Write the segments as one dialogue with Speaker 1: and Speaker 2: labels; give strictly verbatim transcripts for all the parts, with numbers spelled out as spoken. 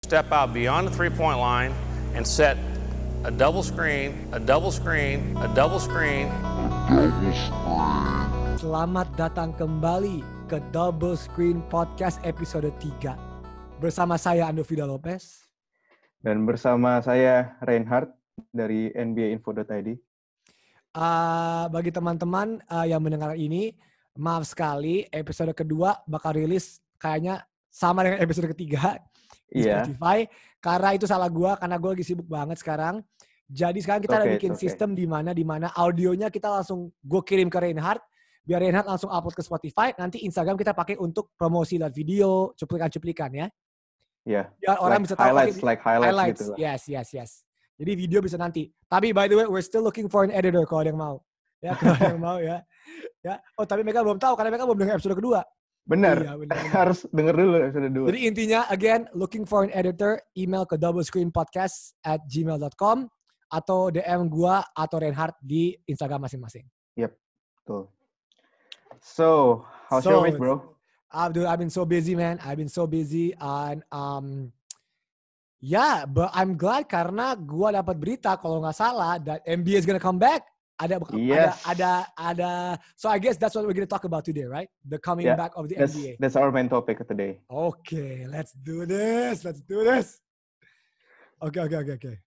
Speaker 1: step out beyond the three-point line and set a double screen, a double screen, a double screen.
Speaker 2: Selamat datang kembali ke Double Screen Podcast episode tiga. Bersama saya Ando Vida Lopez.
Speaker 3: Dan bersama saya Reinhard dari N B A info dot I D.
Speaker 2: Uh, bagi teman-teman uh, yang mendengar ini, maaf sekali episode kedua bakal rilis kayaknya sama dengan episode ketiga di
Speaker 3: Iya.
Speaker 2: Spotify. Karena itu salah gue, karena gue lagi sibuk banget sekarang. Jadi sekarang kita
Speaker 3: Okay,
Speaker 2: ada bikin
Speaker 3: okay.
Speaker 2: sistem di mana di mana audionya kita langsung gue kirim ke Reinhard, biar Reinhard langsung upload ke Spotify. Nanti Instagram kita pakai untuk promosi dan video, cuplikan-cuplikan ya.
Speaker 3: Iya.
Speaker 2: Biar orang
Speaker 3: Like
Speaker 2: bisa tahu.
Speaker 3: highlights,
Speaker 2: okay,
Speaker 3: like highlights,
Speaker 2: highlights.
Speaker 3: gitu lah.
Speaker 2: Yes, yes, yes. Jadi video bisa nanti. Tapi by the way, we're still looking for an editor kalau ada yang mau. Ya, kalau ada yang mau ya. Ya. Oh, tapi mereka belum tahu karena mereka belum dengar episode kedua.
Speaker 3: Benar.
Speaker 2: Iya, benar, benar.
Speaker 3: Harus denger dulu episode dua.
Speaker 2: Jadi intinya, again, looking for an editor, email ke doublescreenpodcast at gmail dot com atau D M gua atau Reinhard di Instagram masing-masing.
Speaker 3: Yep, betul. So, how's
Speaker 2: So,
Speaker 3: your week, bro?
Speaker 2: I've, dude, I've been so busy, man. I've been so busy. And, um, yeah, but I'm glad karena gua dapat berita kalau nggak salah that N B A is gonna come back. Ada,
Speaker 3: Yes.
Speaker 2: ada, ada, ada. So I guess that's what we're gonna talk about today, right? The coming
Speaker 3: Yeah,
Speaker 2: back of the
Speaker 3: That's,
Speaker 2: N B A.
Speaker 3: that's our main topic today.
Speaker 2: Okay, let's do this. Let's do this. Okay, okay, okay, okay.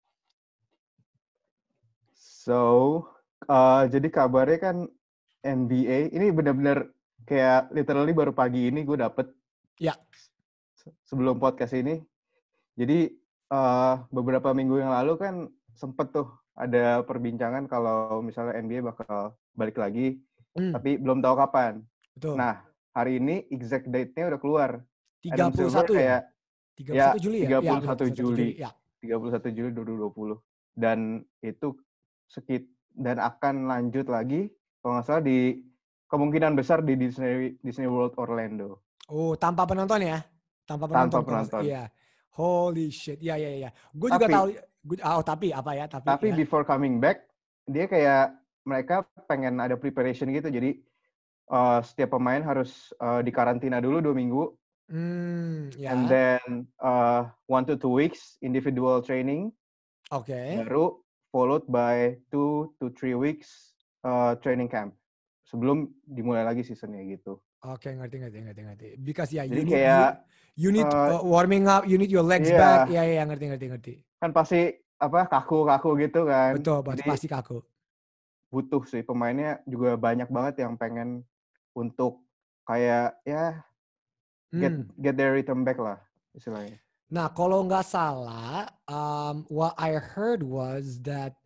Speaker 3: So, uh, jadi kabarnya kan N B A, ini benar-benar kayak literally baru pagi ini gue dapet.
Speaker 2: Ya.
Speaker 3: Se- Sebelum podcast ini. Jadi, uh, beberapa minggu yang lalu kan sempet tuh ada perbincangan kalau misalnya N B A bakal balik lagi,
Speaker 2: Hmm,
Speaker 3: tapi belum tahu kapan.
Speaker 2: betul.
Speaker 3: Nah, hari ini exact date-nya udah keluar.
Speaker 2: tiga
Speaker 3: Adam
Speaker 2: puluh
Speaker 3: Silver
Speaker 2: satu ya?
Speaker 3: kayak
Speaker 2: tiga puluh satu Juli ya?
Speaker 3: tiga puluh
Speaker 2: Iya,
Speaker 3: satu Juli.
Speaker 2: Ya.
Speaker 3: tiga puluh satu Juli dua ribu dua puluh. Dan itu sekit dan akan lanjut lagi kalau nggak salah di kemungkinan besar di Disney Disney World Orlando.
Speaker 2: Oh, tanpa penonton ya? Tanpa penonton.
Speaker 3: Tanpa
Speaker 2: kalau-
Speaker 3: penonton.
Speaker 2: Iya. Holy shit. Iya, iya, iya. Gue juga
Speaker 3: Tapi-
Speaker 2: tahu. Gua, oh, tapi apa ya? Tapi,
Speaker 3: Tapi
Speaker 2: ya.
Speaker 3: before coming back, dia kayak mereka pengen ada preparation gitu. Jadi uh, setiap pemain harus uh, dikarantina dulu dua minggu.
Speaker 2: Hmm, ya.
Speaker 3: And then uh, one to two weeks individual training.
Speaker 2: Oke.
Speaker 3: Baru followed by two to three weeks uh, training camp. Sebelum dimulai lagi seasonnya gitu.
Speaker 2: Oke, ngerti, ngerti, ngerti, ngerti. Because ya,
Speaker 3: Jadi
Speaker 2: you need,
Speaker 3: kayak,
Speaker 2: you, you need
Speaker 3: uh,
Speaker 2: uh, warming up, you need your legs
Speaker 3: iya.
Speaker 2: back. Iya, iya, ngerti, ngerti, ngerti.
Speaker 3: Kan pasti apa kaku-kaku gitu kan.
Speaker 2: Betul, pasti,
Speaker 3: Jadi
Speaker 2: pasti kaku.
Speaker 3: butuh sih pemainnya juga banyak banget yang pengen untuk kayak ya get
Speaker 2: Hmm.
Speaker 3: get their rhythm back lah istilahnya.
Speaker 2: Nah, kalau nggak salah, um, what I heard was that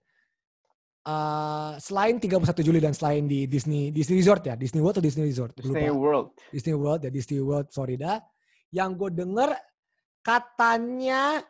Speaker 2: uh, selain tiga puluh satu Juli dan selain di Disney Disney Resort ya, Disney World atau Disney Resort?
Speaker 3: Disney
Speaker 2: Lupa.
Speaker 3: World.
Speaker 2: Disney World ya, Disney World Florida. Yang gue denger katanya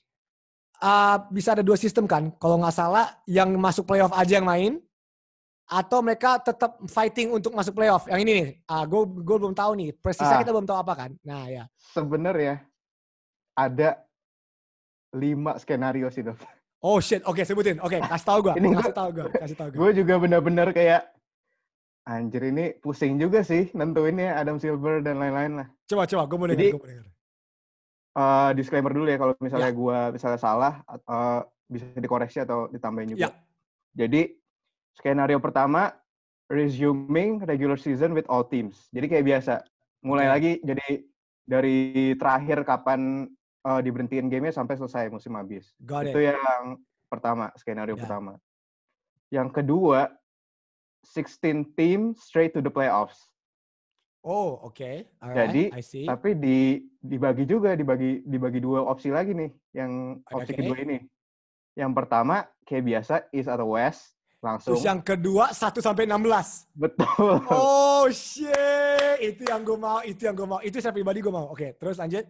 Speaker 2: uh, bisa ada dua sistem kan, kalau nggak salah, yang masuk playoff aja yang main, atau mereka tetap fighting untuk masuk playoff. Yang ini nih, uh, gue gue belum tahu nih, persisnya
Speaker 3: Ah.
Speaker 2: kita belum tahu apa kan. Nah ya.
Speaker 3: Sebenarnya ada lima skenario sih, Dov.
Speaker 2: Oh shit, oke sebutin. Oke, kasih tahu gue.
Speaker 3: Ini
Speaker 2: Kasih
Speaker 3: gua-
Speaker 2: tahu gue. Kasih tahu gue.
Speaker 3: Gue juga benar-benar kayak anjir ini pusing juga sih nentuinnya Adam Silver dan lain-lain lah.
Speaker 2: Coba coba, gue mau dengar.
Speaker 3: Jadi,
Speaker 2: Gue mau dengar.
Speaker 3: Uh, disclaimer dulu ya kalau misalnya
Speaker 2: Ya.
Speaker 3: gue misalnya salah uh, bisa dikoreksi atau ditambahin juga.
Speaker 2: Ya.
Speaker 3: Jadi skenario pertama resuming regular season with all teams. Jadi kayak biasa mulai
Speaker 2: Oke.
Speaker 3: lagi jadi dari terakhir kapan uh, diberhentiin gamenya sampai selesai musim habis.
Speaker 2: Got
Speaker 3: Itu
Speaker 2: it.
Speaker 3: yang pertama, skenario
Speaker 2: Ya.
Speaker 3: pertama. Yang kedua sixteen team straight to the playoffs.
Speaker 2: Oh, oke. Alright,
Speaker 3: Jadi,
Speaker 2: I see.
Speaker 3: Tapi di dibagi juga, dibagi dibagi dua opsi lagi nih, yang opsi
Speaker 2: Oke.
Speaker 3: kedua ini. Yang pertama kayak biasa East atau West langsung.
Speaker 2: Terus yang kedua satu sampai enam belas.
Speaker 3: Betul.
Speaker 2: Oh shit, itu yang gue mau, itu yang gue mau. Itu saya pribadi gue mau. Oke, terus lanjut.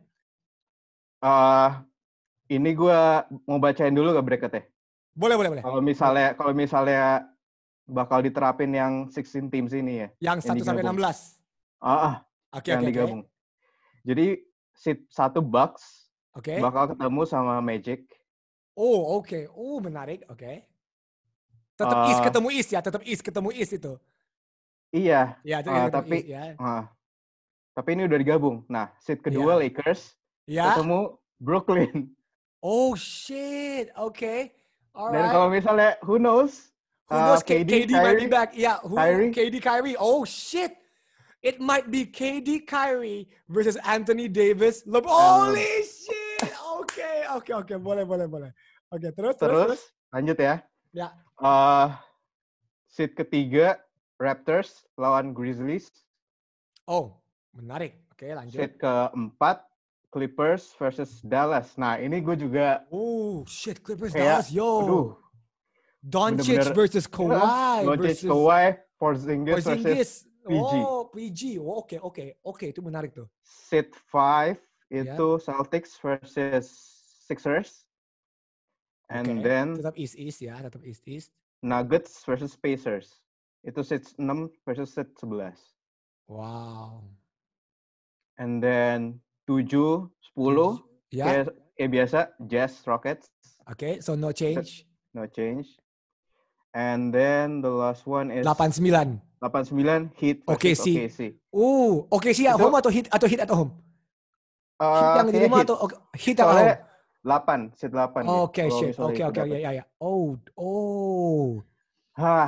Speaker 3: Eh, ini gue mau bacain dulu gak bracketnya?
Speaker 2: Boleh, boleh, boleh.
Speaker 3: Kalau misalnya kalau misalnya bakal diterapin yang sixteen teams ini ya.
Speaker 2: Yang satu sampai enam
Speaker 3: digabung.
Speaker 2: belas.
Speaker 3: Ah, ah,
Speaker 2: Oke,
Speaker 3: yang
Speaker 2: oke, oke.
Speaker 3: digabung. Jadi seat satu Bucks
Speaker 2: Oke.
Speaker 3: bakal ketemu sama Magic.
Speaker 2: Oh, oke. Oh, menarik. Oke. Tetap
Speaker 3: Uh,
Speaker 2: East ketemu East ya, tetap East ketemu East itu.
Speaker 3: Iya.
Speaker 2: Ya, itu
Speaker 3: uh,
Speaker 2: ketemu
Speaker 3: tapi
Speaker 2: East, ya.
Speaker 3: uh, tapi ini udah digabung. Nah, seat kedua
Speaker 2: Iya.
Speaker 3: Lakers
Speaker 2: Ya.
Speaker 3: ketemu Brooklyn.
Speaker 2: Oh shit. Okay.
Speaker 3: Dan
Speaker 2: Alright.
Speaker 3: kalau misalnya who knows?
Speaker 2: Who knows
Speaker 3: uh,
Speaker 2: K-
Speaker 3: K D,
Speaker 2: KD might be
Speaker 3: Kyrie,
Speaker 2: back. Yeah, who
Speaker 3: Kyrie.
Speaker 2: K D Kyrie. Oh shit. It might be K D Kyrie versus Anthony Davis. Le- Holy shit. Oke, oke, oke. Boleh, boleh, boleh. Oke, terus, terus,
Speaker 3: Terus,
Speaker 2: terus.
Speaker 3: lanjut ya.
Speaker 2: Ya.
Speaker 3: Uh, seed ketiga Raptors lawan Grizzlies.
Speaker 2: Oh, menarik. Oke, lanjut.
Speaker 3: Seed keempat Clippers versus Dallas. Nah, ini gue juga
Speaker 2: Oh, shit. Clippers
Speaker 3: kayak,
Speaker 2: Dallas, yo.
Speaker 3: aduh,
Speaker 2: Doncic
Speaker 3: bener-bener
Speaker 2: versus Kawhi
Speaker 3: Doncic,
Speaker 2: versus
Speaker 3: Kawhi, Porzingis versus
Speaker 2: Porzingis.
Speaker 3: P G.
Speaker 2: Oh, P G. Oh, oke, oke. Oke, itu menarik tuh.
Speaker 3: Seed five
Speaker 2: Ya.
Speaker 3: itu Celtics versus Sixers. And
Speaker 2: Oke,
Speaker 3: then
Speaker 2: tetap East East ya, tetap East East.
Speaker 3: Nuggets versus Pacers. Itu seed enam versus seed sebelas.
Speaker 2: Wow.
Speaker 3: And then tujuh, sepuluh,
Speaker 2: Ya.
Speaker 3: kayak, kayak biasa, Jazz, Rockets.
Speaker 2: Oke, so no change.
Speaker 3: No change. And then the last one is
Speaker 2: delapan sembilan.
Speaker 3: delapan sembilan Heat
Speaker 2: Oke
Speaker 3: versus
Speaker 2: sih.
Speaker 3: O K C.
Speaker 2: Uh, oke sih at
Speaker 3: Itu-
Speaker 2: home atau hit atau hit at home? Hit
Speaker 3: Uh,
Speaker 2: yang di
Speaker 3: kayak
Speaker 2: rumah
Speaker 3: Heat.
Speaker 2: atau okay, hit at
Speaker 3: Soalnya
Speaker 2: home?
Speaker 3: delapan, seed delapan. dia,
Speaker 2: Oke,
Speaker 3: kalau
Speaker 2: shit.
Speaker 3: misalnya
Speaker 2: Oke,
Speaker 3: itu
Speaker 2: oke,
Speaker 3: dapet.
Speaker 2: ya, ya, ya. Oh, oh.
Speaker 3: Hah,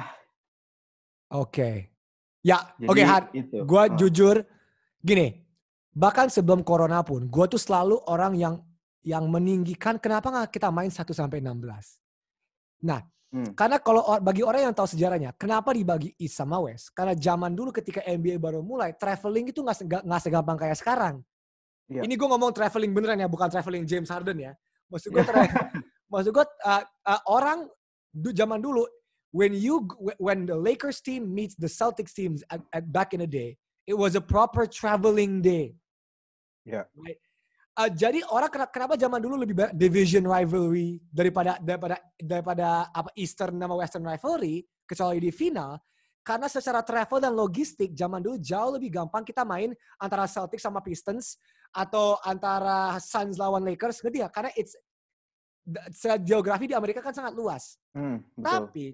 Speaker 2: Oke. Ya,
Speaker 3: jadi
Speaker 2: oke, Han.
Speaker 3: itu.
Speaker 2: Gue
Speaker 3: Ah.
Speaker 2: jujur, gini. Bahkan sebelum corona pun, gue tuh selalu orang yang yang meninggikan kenapa nggak kita main satu sampai enam belas. Nah,
Speaker 3: Hmm.
Speaker 2: karena kalau or- bagi orang yang tahu sejarahnya, kenapa dibagi East sama West? Karena zaman dulu ketika N B A baru mulai, traveling itu nggak sega- nggak segampang kayak sekarang.
Speaker 3: Iya.
Speaker 2: Ini gue ngomong traveling beneran ya, bukan traveling James Harden ya. Maksud gue, tra- maksud gue uh, uh, orang du- zaman dulu, when you when the Lakers team meets the Celtics teams at, at back in the day, it was a proper traveling day.
Speaker 3: Iya.
Speaker 2: Right? Uh, jadi orang kenapa, kenapa zaman dulu lebih banyak division rivalry daripada daripada daripada apa Eastern sama Western rivalry kecuali di final, karena secara travel dan logistik zaman dulu jauh lebih gampang kita main antara Celtics sama Pistons atau antara Suns lawan Lakers, ngerti nggak? Karena it's secara geografi di Amerika kan sangat luas.
Speaker 3: Hmm, betul.
Speaker 2: Tapi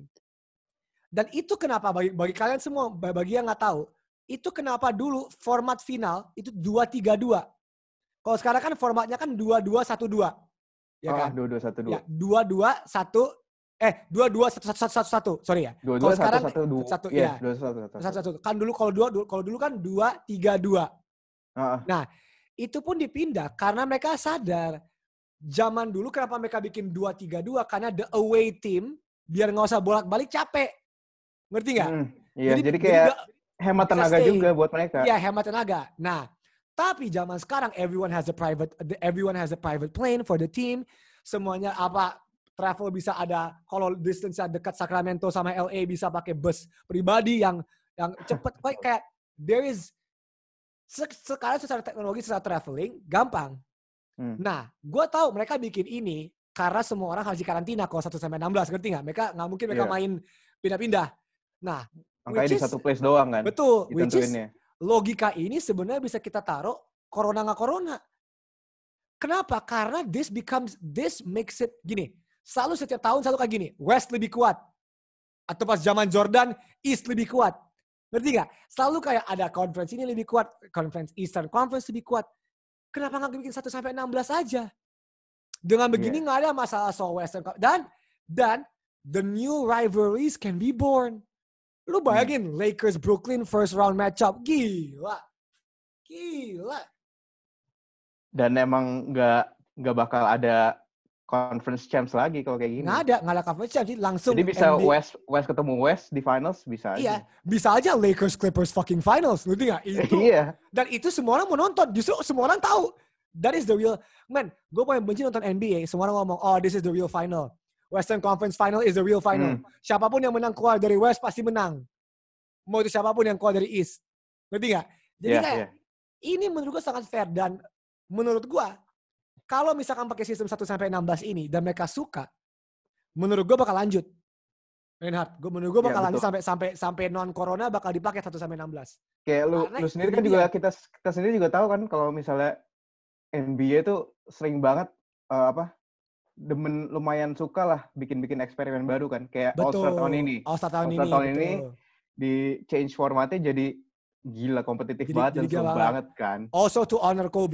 Speaker 2: dan itu kenapa bagi, bagi kalian semua, bagi yang nggak tahu, itu kenapa dulu format final itu dua tiga dua. Kalau sekarang kan formatnya kan dua dua satu dua. Ya
Speaker 3: Oh,
Speaker 2: kan?
Speaker 3: dua dua satu
Speaker 2: Ya,
Speaker 3: dua.
Speaker 2: dua dua satu eh dua dua satu satu satu satu. Sorry ya.
Speaker 3: Dua
Speaker 2: Kalau
Speaker 3: dua satu
Speaker 2: sekarang
Speaker 3: satu dua.
Speaker 2: satu
Speaker 3: Iya,
Speaker 2: ya.
Speaker 3: dua satu satu.
Speaker 2: Satu satu. Kan dulu kalau dua kalau dulu kan dua tiga dua.
Speaker 3: Ah,
Speaker 2: Nah, itu pun dipindah karena mereka sadar zaman dulu kenapa mereka bikin dua tiga dua karena the away team biar nggak usah bolak-balik capek. Ngerti nggak?
Speaker 3: hmm, iya, jadi,
Speaker 2: jadi
Speaker 3: kayak
Speaker 2: the-
Speaker 3: hemat
Speaker 2: bisa
Speaker 3: tenaga
Speaker 2: stay.
Speaker 3: juga buat mereka.
Speaker 2: Iya, hemat tenaga. Nah, tapi zaman sekarang everyone has a private everyone has a private plane for the team. Semuanya apa travel bisa ada, kalau distance dekat Sacramento sama L A bisa pakai bus pribadi yang yang cepet. Kayak kayak there is se- sekarang secara teknologi, secara traveling gampang.
Speaker 3: Hmm.
Speaker 2: Nah, gue tahu mereka bikin ini karena semua orang harus di karantina kalau satu sampai enam belas, ngerti nggak? Mereka nggak mungkin mereka
Speaker 3: Iya.
Speaker 2: main pindah-pindah. Nah,
Speaker 3: Makanya
Speaker 2: which
Speaker 3: di
Speaker 2: is-
Speaker 3: satu place doang kan.
Speaker 2: betul, which is
Speaker 3: Ditentuinnya.
Speaker 2: logika ini sebenarnya bisa kita taruh corona nggak corona. Kenapa? Karena this becomes, this makes it gini. Selalu setiap tahun selalu kayak gini. West lebih kuat. Atau pas zaman Jordan, East lebih kuat. Ngerti nggak? Selalu kayak ada conference ini lebih kuat. Conference Eastern Conference lebih kuat. Kenapa nggak bikin satu sampai enam belas aja? Dengan begini nggak ada masalah soal Western Conference. Dan, dan the new rivalries can be born. Lu bayangin hmm. Lakers Brooklyn first round matchup. Gila. Gila.
Speaker 3: Dan emang nggak nggak bakal ada conference champs lagi kalau kayak gini.
Speaker 2: Nggak ada, nggak ada conference champs. Langsung
Speaker 3: Jadi bisa
Speaker 2: N B A.
Speaker 3: West West ketemu West di finals bisa aja.
Speaker 2: Iya, bisa aja Lakers Clippers fucking finals. Ngerti nggak? Itu.
Speaker 3: Iya.
Speaker 2: Dan itu semua orang mau nonton. Justru semua orang tahu. That is the real. Man, gue paling benci nonton N B A. Semua orang ngomong, oh this is the real final. Western Conference Final is the real final.
Speaker 3: Hmm.
Speaker 2: Siapapun yang menang keluar dari West pasti menang. Mau itu siapapun yang keluar dari East. Ngerti nggak? Jadi
Speaker 3: Yeah,
Speaker 2: kayak,
Speaker 3: yeah.
Speaker 2: ini menurut gue sangat fair. Dan menurut gue, kalau misalkan pakai sistem satu sampai enam belas ini, dan mereka suka, menurut gue bakal lanjut. Reinhard, gue menurut gue bakal
Speaker 3: Yeah,
Speaker 2: lanjut
Speaker 3: betul.
Speaker 2: sampai sampai sampai non corona bakal dipakai satu sampai enam belas.
Speaker 3: Kayak lu
Speaker 2: Karena
Speaker 3: lu sendiri
Speaker 2: ini
Speaker 3: kan
Speaker 2: dia.
Speaker 3: juga kita kita sendiri juga tahu kan kalau misalnya N B A tuh sering banget eh, apa demen lumayan suka lah bikin-bikin eksperimen baru kan kayak All Star tahun ini.
Speaker 2: All-Star tahun
Speaker 3: All-Star
Speaker 2: ini,
Speaker 3: tahun
Speaker 2: betul.
Speaker 3: ini di change formatnya jadi gila kompetitif
Speaker 2: Jadi-
Speaker 3: banget
Speaker 2: jadi
Speaker 3: dan seru
Speaker 2: gila
Speaker 3: banget kan.
Speaker 2: Also to honor Kobe,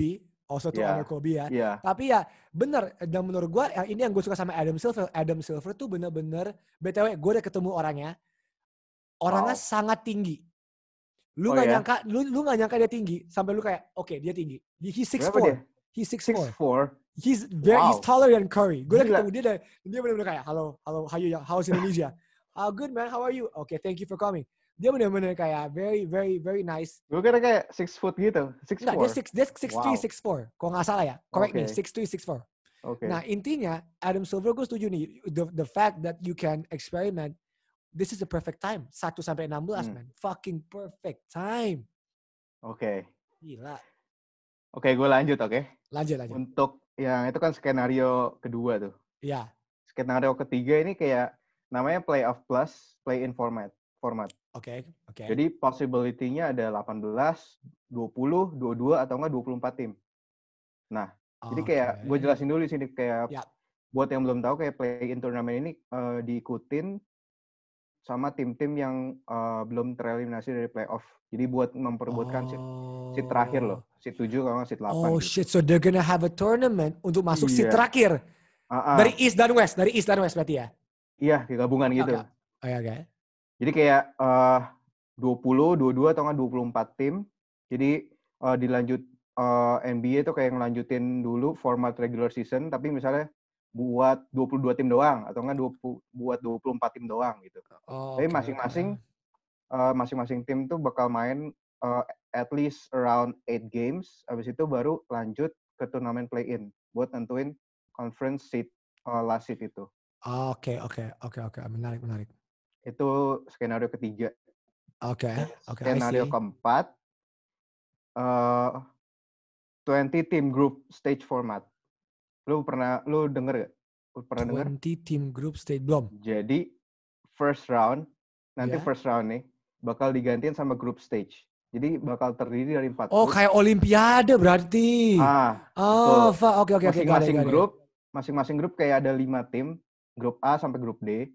Speaker 2: also to
Speaker 3: Yeah.
Speaker 2: honor Kobe ya.
Speaker 3: Iya.
Speaker 2: Tapi ya bener, dan menurut gue yang ini yang gue suka sama Adam Silver. Adam Silver tuh bener-bener, B T W gue udah ketemu orangnya. Orangnya
Speaker 3: Wow.
Speaker 2: sangat tinggi. Lu
Speaker 3: Oh
Speaker 2: nggak
Speaker 3: ya?
Speaker 2: nyangka, lu lu nggak nyangka dia tinggi sampai lu kayak, oke okay, dia tinggi. He's six
Speaker 3: Berapa
Speaker 2: four.
Speaker 3: dia?
Speaker 2: He's six
Speaker 3: six
Speaker 2: four.
Speaker 3: four.
Speaker 2: He's very,
Speaker 3: Wow.
Speaker 2: he's taller than Curry. Gue udah
Speaker 3: Gila.
Speaker 2: ketemu dia dan dia benar-benar kayak, halo, halo, how you, how's Indonesia? Oh, good man, how are you? Okay, thank you for coming. Dia benar-benar kayak very, very, very nice.
Speaker 3: Gue kira kayak six foot gitu. Six
Speaker 2: Enggak,
Speaker 3: four.
Speaker 2: dia six, dia six three,
Speaker 3: Wow.
Speaker 2: six four. Kalau nggak salah ya, correct
Speaker 3: Okay.
Speaker 2: me, six three, six four.
Speaker 3: Oke.
Speaker 2: Nah intinya Adam Silver gue setuju nih, the the fact that you can experiment, this is the perfect time. satu sampai enam belas
Speaker 3: Hmm.
Speaker 2: man, fucking perfect time.
Speaker 3: Oke.
Speaker 2: Gila.
Speaker 3: Oke, gue lanjut oke.
Speaker 2: Lanjut lanjut.
Speaker 3: Untuk yang itu kan skenario kedua tuh.
Speaker 2: Iya.
Speaker 3: Skenario ketiga ini kayak namanya playoff plus play-in format. Format.
Speaker 2: Oke, oke.
Speaker 3: Jadi possibility-nya ada delapan belas, dua puluh, dua puluh dua atau enggak dua puluh empat tim. Nah, jadi kayak
Speaker 2: Oke.
Speaker 3: gue jelasin dulu di sini kayak
Speaker 2: Ya.
Speaker 3: buat yang belum tahu kayak play-in turnamen ini uh, diikutin sama tim-tim yang uh, belum tereliminasi dari playoff. Jadi buat memperebutkan seat, seat terakhir loh. Seat tujuh kalau nggak seat delapan.
Speaker 2: Oh
Speaker 3: gitu.
Speaker 2: shit, so they're gonna have a tournament untuk masuk seat
Speaker 3: Iya.
Speaker 2: terakhir.
Speaker 3: Uh-uh.
Speaker 2: Dari East dan West, dari East dan West berarti ya?
Speaker 3: Iya, kayak gabungan gitu.
Speaker 2: Oke, oke. oke.
Speaker 3: Jadi kayak uh, dua puluh, dua puluh dua atau nggak dua puluh empat tim. Jadi uh, dilanjut uh, N B A itu kayak ngelanjutin dulu format regular season, tapi misalnya buat dua puluh dua tim doang atau enggak dua puluh, buat dua puluh empat tim doang gitu.
Speaker 2: Oh,
Speaker 3: Tapi
Speaker 2: oke,
Speaker 3: masing-masing
Speaker 2: oke.
Speaker 3: uh, masing-masing tim tuh bakal main uh, at least around eight games. Habis itu baru lanjut ke turnamen play-in buat nentuin conference seat uh, last seat itu.
Speaker 2: Oke, oke, oke, oke. Menarik, menarik.
Speaker 3: Itu skenario ketiga.
Speaker 2: Oke,
Speaker 3: Dan
Speaker 2: oke. I
Speaker 3: skenario
Speaker 2: see.
Speaker 3: keempat uh, twenty team group stage format. Lu pernah lu denger gak? Lu pernah denger?
Speaker 2: twenty team group stage belum?
Speaker 3: Jadi first round, nanti
Speaker 2: Ya.
Speaker 3: first round nih bakal digantiin sama group stage. Jadi bakal terdiri dari empat
Speaker 2: Oh,
Speaker 3: grup.
Speaker 2: kayak Olimpiade berarti.
Speaker 3: Ah,
Speaker 2: Oh,
Speaker 3: betul.
Speaker 2: fuck. Oke, oke, oke.
Speaker 3: Masing-masing grup, masing-masing grup kayak ada lima tim, grup A sampai grup D.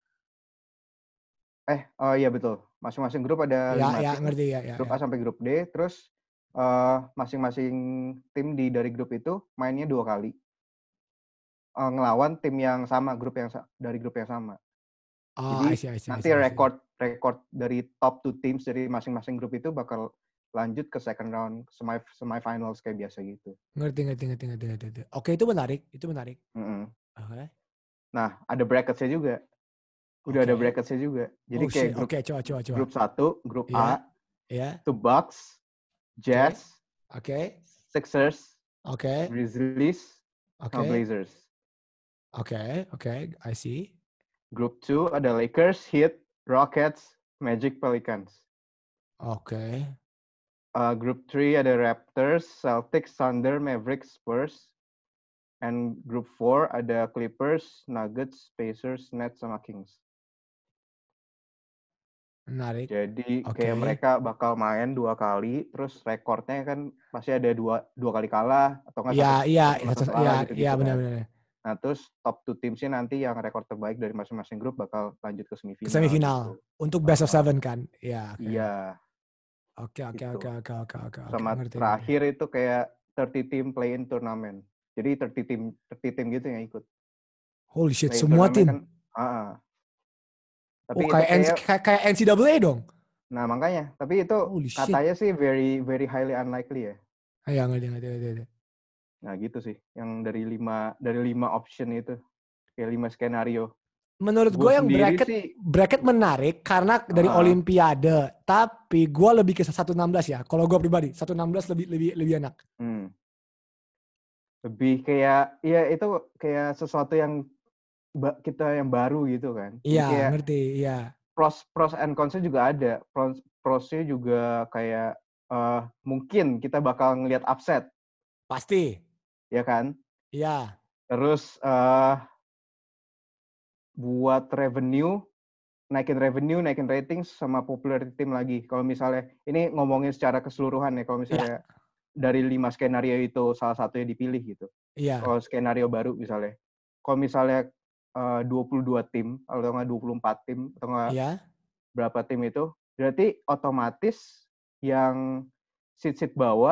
Speaker 3: Eh, oh iya betul. Masing-masing grup ada
Speaker 2: Ya,
Speaker 3: lima
Speaker 2: ya,
Speaker 3: tim.
Speaker 2: ngerti ya, ya.
Speaker 3: Grup
Speaker 2: ya.
Speaker 3: A sampai grup D, terus uh, masing-masing tim di dari grup itu mainnya dua kali. Uh, ngelawan tim yang sama, grup yang dari grup yang sama.
Speaker 2: Oh,
Speaker 3: Jadi
Speaker 2: I see, I see,
Speaker 3: nanti
Speaker 2: I see, I see.
Speaker 3: record record dari top two teams dari masing-masing grup itu bakal lanjut ke second round semi semifinals kayak biasa gitu.
Speaker 2: Ngerti, ngerti, ngerti, ngerti, ngerti. Oke, itu menarik, itu menarik.
Speaker 3: Mm-hmm.
Speaker 2: Oke.
Speaker 3: Nah, ada bracketsnya juga. Udah
Speaker 2: okay.
Speaker 3: ada bracketsnya juga. Jadi
Speaker 2: oh,
Speaker 3: kayak
Speaker 2: shit.
Speaker 3: grup
Speaker 2: okay, coba, coba, coba.
Speaker 3: grup satu, grup
Speaker 2: yeah.
Speaker 3: A,
Speaker 2: yeah.
Speaker 3: itu Bucks, Jazz,
Speaker 2: Oke. Okay.
Speaker 3: Sixers,
Speaker 2: Oke. Okay.
Speaker 3: Grizzlies,
Speaker 2: okay.
Speaker 3: sama Blazers.
Speaker 2: Oke, okay. oke, okay. I see.
Speaker 3: Grup two ada Lakers, Heat, Rockets, Magic, Pelicans.
Speaker 2: Oke. Okay.
Speaker 3: Uh, group three ada Raptors, Celtics, Thunder, Mavericks, Spurs. And group four ada Clippers, Nuggets, Pacers, Nets, sama Kings.
Speaker 2: Menarik.
Speaker 3: Jadi
Speaker 2: okay.
Speaker 3: kayak mereka bakal main dua kali, terus rekornya kan pasti ada dua dua kali kalah atau nggak
Speaker 2: Iya,
Speaker 3: satu,
Speaker 2: iya,
Speaker 3: satu, satu
Speaker 2: iya,
Speaker 3: gitu,
Speaker 2: iya,
Speaker 3: gitu
Speaker 2: benar-benar.
Speaker 3: Kan. Nah terus top two teamsnya nanti yang rekor terbaik dari masing-masing grup bakal lanjut ke semifinal.
Speaker 2: Ke semifinal gitu. Untuk best of seven kan?
Speaker 3: Iya.
Speaker 2: Okay.
Speaker 3: Iya.
Speaker 2: Oke, oke, oke, oke, oke, oke.
Speaker 3: Sama
Speaker 2: ngerti,
Speaker 3: terakhir
Speaker 2: ngerti.
Speaker 3: itu kayak thirty team play-in turnamen. Jadi thirty team, thirty team gitu yang ikut.
Speaker 2: Holy shit,
Speaker 3: play-in
Speaker 2: semua tim?
Speaker 3: Kan, uh-uh. Tapi
Speaker 2: oh, kayak,
Speaker 3: kayak,
Speaker 2: kayak, kayak N C double A dong?
Speaker 3: Nah makanya, tapi itu
Speaker 2: Holy
Speaker 3: katanya
Speaker 2: shit.
Speaker 3: sih very very highly unlikely ya.
Speaker 2: Iya, ngerti, ngerti, ngerti.
Speaker 3: Nah gitu sih, yang dari lima dari lima option itu, kayak lima skenario.
Speaker 2: Menurut gue yang bracket
Speaker 3: sih,
Speaker 2: bracket menarik karena dari uh, Olimpiade, tapi gue lebih ke satu enam belas ya. Kalau gue pribadi, satu enam belas lebih lebih lebih enak.
Speaker 3: Hmm. Lebih kayak, ya itu kayak sesuatu yang kita yang baru gitu kan.
Speaker 2: Iya, ngerti, iya.
Speaker 3: Pros pros and cons-nya juga ada. Pros prosnya juga kayak uh, mungkin kita bakal ngelihat upset.
Speaker 2: Pasti.
Speaker 3: Ya kan?
Speaker 2: Iya.
Speaker 3: Terus uh, buat revenue, naikin revenue, naikin ratings sama popularity tim lagi. Kalau misalnya ini ngomongin secara keseluruhan ya, kalau misalnya yeah. dari lima skenario itu salah satu yang dipilih gitu.
Speaker 2: Iya. Yeah.
Speaker 3: Kalau skenario baru misalnya. Kalau misalnya uh, dua puluh dua tim atau nggak dua puluh empat tim atau nggak
Speaker 2: yeah.
Speaker 3: berapa tim itu, berarti otomatis yang seat-seat bawah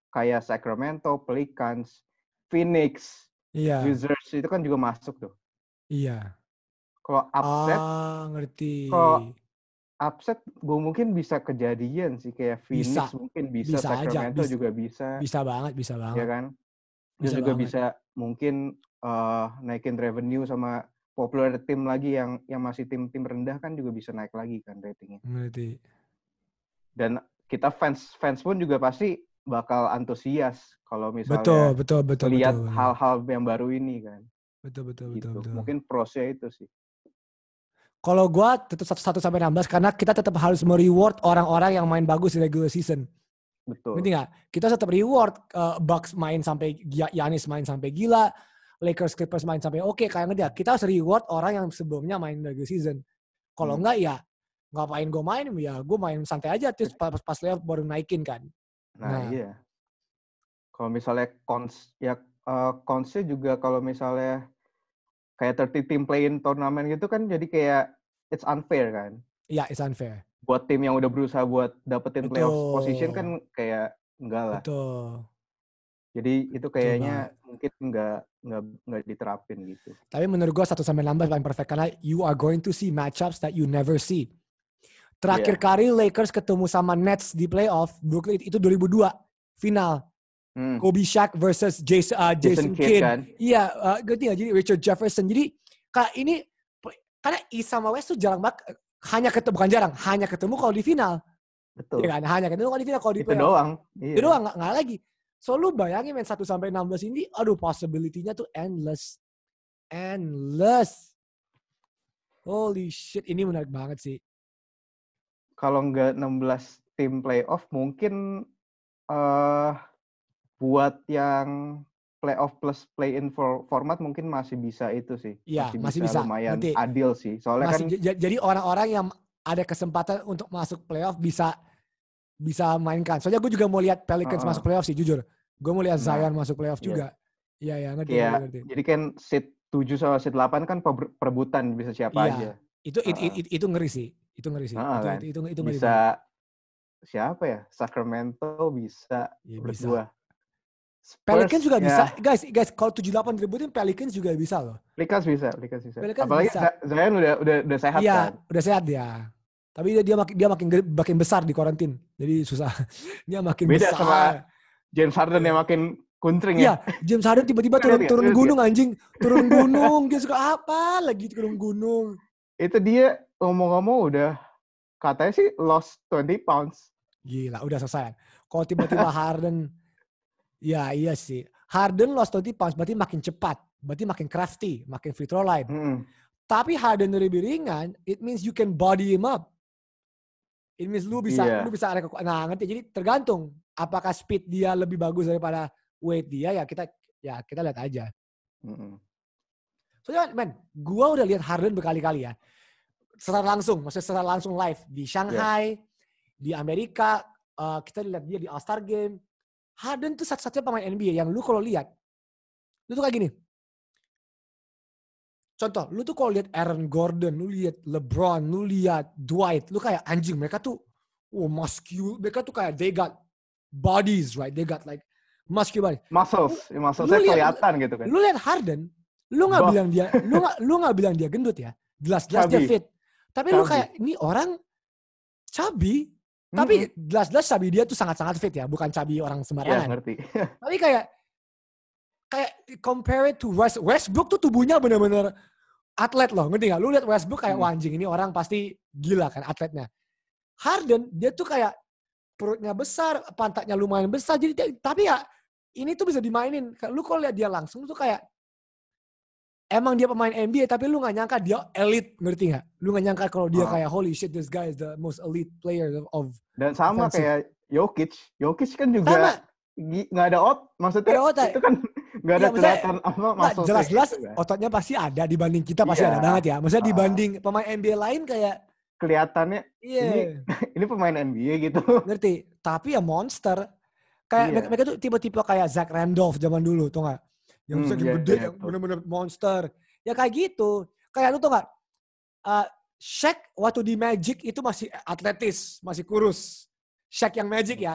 Speaker 3: kayak Sacramento, Pelicans, Phoenix,
Speaker 2: Iya.
Speaker 3: Wizards itu kan juga masuk tuh.
Speaker 2: Iya.
Speaker 3: Kalau upset,
Speaker 2: Ah, ngerti.
Speaker 3: kalau upset gue mungkin bisa kejadian sih kayak Phoenix
Speaker 2: Bisa.
Speaker 3: mungkin bisa,
Speaker 2: Bisa aja.
Speaker 3: Sacramento
Speaker 2: Bis-
Speaker 3: juga bisa,
Speaker 2: bisa banget, bisa
Speaker 3: ya
Speaker 2: banget.
Speaker 3: kan? Terus
Speaker 2: Bisa
Speaker 3: juga
Speaker 2: banget.
Speaker 3: bisa mungkin uh, naikin revenue sama popular tim lagi yang yang masih tim-tim rendah kan juga bisa naik lagi kan ratingnya.
Speaker 2: Ngerti.
Speaker 3: Dan kita fans fans pun juga pasti bakal antusias kalau
Speaker 2: Betul,
Speaker 3: misalnya
Speaker 2: betul, betul,
Speaker 3: lihat
Speaker 2: betul, betul.
Speaker 3: hal-hal yang baru ini kan.
Speaker 2: Betul, betul, betul,
Speaker 3: Gitu.
Speaker 2: betul.
Speaker 3: Mungkin prosnya itu sih.
Speaker 2: Kalau gue tetap satu sampai enam belas karena kita tetap harus mereward orang-orang yang main bagus di regular season.
Speaker 3: Betul.
Speaker 2: Ngerti nggak? Kita tetap reward uh, Bucks main sampai Giannis main sampai gila, Lakers Clippers main sampai oke, okay, kayak ngerti ya. Kita harus reward orang yang sebelumnya main regular season. Kalau
Speaker 3: Hmm.
Speaker 2: enggak ya ngapain gue main, ya gue main santai aja terus pas pas playoff baru naikin kan.
Speaker 3: Nah,
Speaker 2: Nah.
Speaker 3: iya. Kalau misalnya cons ya uh, consnya juga kalau misalnya kayak tiga puluh team play-in turnamen gitu kan jadi kayak it's unfair kan.
Speaker 2: Iya, it's unfair.
Speaker 3: Buat tim yang udah berusaha buat dapetin
Speaker 2: Betul.
Speaker 3: playoff position kan kayak enggak lah.
Speaker 2: Betul.
Speaker 3: Jadi itu kayaknya
Speaker 2: Betul
Speaker 3: mungkin enggak enggak enggak diterapin gitu.
Speaker 2: Tapi menurut gue satu sampai enam belas paling perfect karena you are going to see matchups that you never see. Terakhir
Speaker 3: Yeah.
Speaker 2: kali Lakers ketemu sama Nets di playoff Brooklyn itu dua ribu dua final.
Speaker 3: Hmm.
Speaker 2: Kobe Shaq versus Jason, uh, Jason,
Speaker 3: Jason Kidd
Speaker 2: Kidd.
Speaker 3: kan?
Speaker 2: Iya, uh, ngerti nggak? Jadi Richard Jefferson. Jadi kak ini karena East sama West tuh jarang banget, hanya ketemu bukan jarang, hanya ketemu kalau di final.
Speaker 3: Betul.
Speaker 2: Ya kan? Hanya ketemu kalau di final, kalau di
Speaker 3: Itu
Speaker 2: playoff.
Speaker 3: doang. Iya.
Speaker 2: Itu doang, nggak, nggak lagi. So lu bayangin main satu sampai enam belas ini, aduh possibility-nya tuh endless. Endless. Holy shit, ini menarik banget sih.
Speaker 3: Kalau nggak enam belas tim playoff mungkin uh, buat yang playoff plus play-in for format mungkin masih bisa itu sih.
Speaker 2: Iya,
Speaker 3: masih,
Speaker 2: masih
Speaker 3: bisa,
Speaker 2: bisa.
Speaker 3: lumayan
Speaker 2: Ngerti.
Speaker 3: adil sih. Soalnya
Speaker 2: Masih,
Speaker 3: kan
Speaker 2: j- jadi orang-orang yang ada kesempatan untuk masuk playoff bisa bisa mainkan. Soalnya gue juga mau lihat Pelicans
Speaker 3: uh-uh.
Speaker 2: masuk playoff sih, jujur. Gue mau lihat
Speaker 3: Nah,
Speaker 2: Zion masuk playoff
Speaker 3: iya.
Speaker 2: juga. Iya, iya, ngerti,
Speaker 3: Kayak,
Speaker 2: ngerti, ngerti.
Speaker 3: jadi kan seat tujuh sama seat delapan kan perebutan bisa siapa
Speaker 2: Iya,
Speaker 3: aja.
Speaker 2: itu, it,
Speaker 3: uh-uh.
Speaker 2: it, it, itu ngeri sih. Itu ngeri sih.
Speaker 3: Uh-uh,
Speaker 2: itu,
Speaker 3: kan?
Speaker 2: itu, itu, itu ngeri
Speaker 3: bisa
Speaker 2: banget.
Speaker 3: Siapa ya? Sacramento bisa.
Speaker 2: Ya,
Speaker 3: menurut
Speaker 2: bisa.
Speaker 3: gua. Spurs,
Speaker 2: Pelicans juga
Speaker 3: ya.
Speaker 2: bisa. Guys, guys, kalau tujuh delapan direbutin Pelicans juga bisa loh.
Speaker 3: Pelicans bisa, Pelicans bisa.
Speaker 2: Pelicans
Speaker 3: Apalagi
Speaker 2: bisa.
Speaker 3: Zion udah udah udah sehat
Speaker 2: iya,
Speaker 3: kan.
Speaker 2: udah sehat dia. Tapi dia, dia makin dia makin makin besar di karantin. Jadi susah. Dia makin
Speaker 3: Beda
Speaker 2: besar.
Speaker 3: sama James Harden yang makin kuncring
Speaker 2: Iya,
Speaker 3: ya.
Speaker 2: James Harden tiba-tiba turun
Speaker 3: Lihat,
Speaker 2: turun
Speaker 3: lihat,
Speaker 2: gunung anjing, turun gunung. Dia suka apa lagi turun gunung.
Speaker 3: Itu dia ngomong-ngomong udah katanya sih lost twenty pounds.
Speaker 2: Gila, udah selesai. Kalau tiba-tiba Harden, ya iya sih. Harden lost twenty pounds berarti makin cepat, berarti makin crafty, makin free throw line.
Speaker 3: Mm-mm.
Speaker 2: Tapi Harden lebih ringan, it means you can body him up. It means lu bisa,
Speaker 3: Iya.
Speaker 2: lu bisa ada kekuatan. Nah, ngerti? Jadi tergantung apakah speed dia lebih bagus daripada weight dia, ya kita ya kita lihat aja.
Speaker 3: Mm-mm.
Speaker 2: Soalnya, men, gua udah lihat Harden berkali-kali ya. Secara langsung, maksudnya secara langsung live di Shanghai, yeah. di Amerika, uh, kita lihat dia di All-Star Game. Harden tuh satu-satunya pemain N B A yang lu kalau lihat, lu tuh kayak gini. Contoh, lu tuh kalau lihat Aaron Gordon, lu lihat LeBron, lu lihat Dwight, lu kayak anjing, mereka tuh oh muscular, mereka tuh kayak they got bodies, right? They got like muscular bodies.
Speaker 3: Muscles,
Speaker 2: lu,
Speaker 3: musclesnya
Speaker 2: lu liat,
Speaker 3: kelihatan gitu kan.
Speaker 2: Lu lihat Harden, lu nggak bilang dia, lu nggak lu nggak bilang dia gendut ya, jelas-jelas dia fit. Tapi chubby. Lu kayak ini orang chubby, mm-hmm. tapi jelas-jelas chubby dia tuh sangat-sangat fit ya, bukan chubby orang sembarangan.
Speaker 3: Iya, ngerti.
Speaker 2: Tapi kayak kayak compare it to West, Westbrook tuh tubuhnya bener-bener atlet loh, ngerti gak? Lu lihat Westbrook kayak, hmm. wah anjing ini orang pasti gila kan atletnya. Harden, dia tuh kayak perutnya besar, pantatnya lumayan besar, jadi dia, tapi ya ini tuh bisa dimainin. Lu kalau lihat dia langsung tuh kayak, emang dia pemain N B A, tapi lu gak nyangka dia elite, ngerti gak? Lu gak nyangka kalau dia oh. kayak, holy shit, this guy is the most elite player of
Speaker 3: Dan sama offensive. Kayak Jokic, Jokic kan juga sama. Nggak ada ot, maksudnya otot. Itu kan nggak ada ya, kelihatan apa masuk.
Speaker 2: Jelas-jelas gitu, ototnya pasti ada dibanding kita pasti yeah. ada banget ya. Maksudnya uh, dibanding pemain N B A lain kayak
Speaker 3: kelihatannya yeah. ini ini pemain N B A gitu.
Speaker 2: Ngerti? Tapi ya monster. Kayak yeah. mereka tuh tipe-tipe kayak Zach Randolph zaman dulu, tuh nggak? Yang hmm, yeah, gede, yeah, yang bener-bener monster. Ya kayak gitu. Kayak lu tuh nggak? Uh, Shaq waktu di Magic itu masih atletis, masih kurus. Shaq yang Magic ya.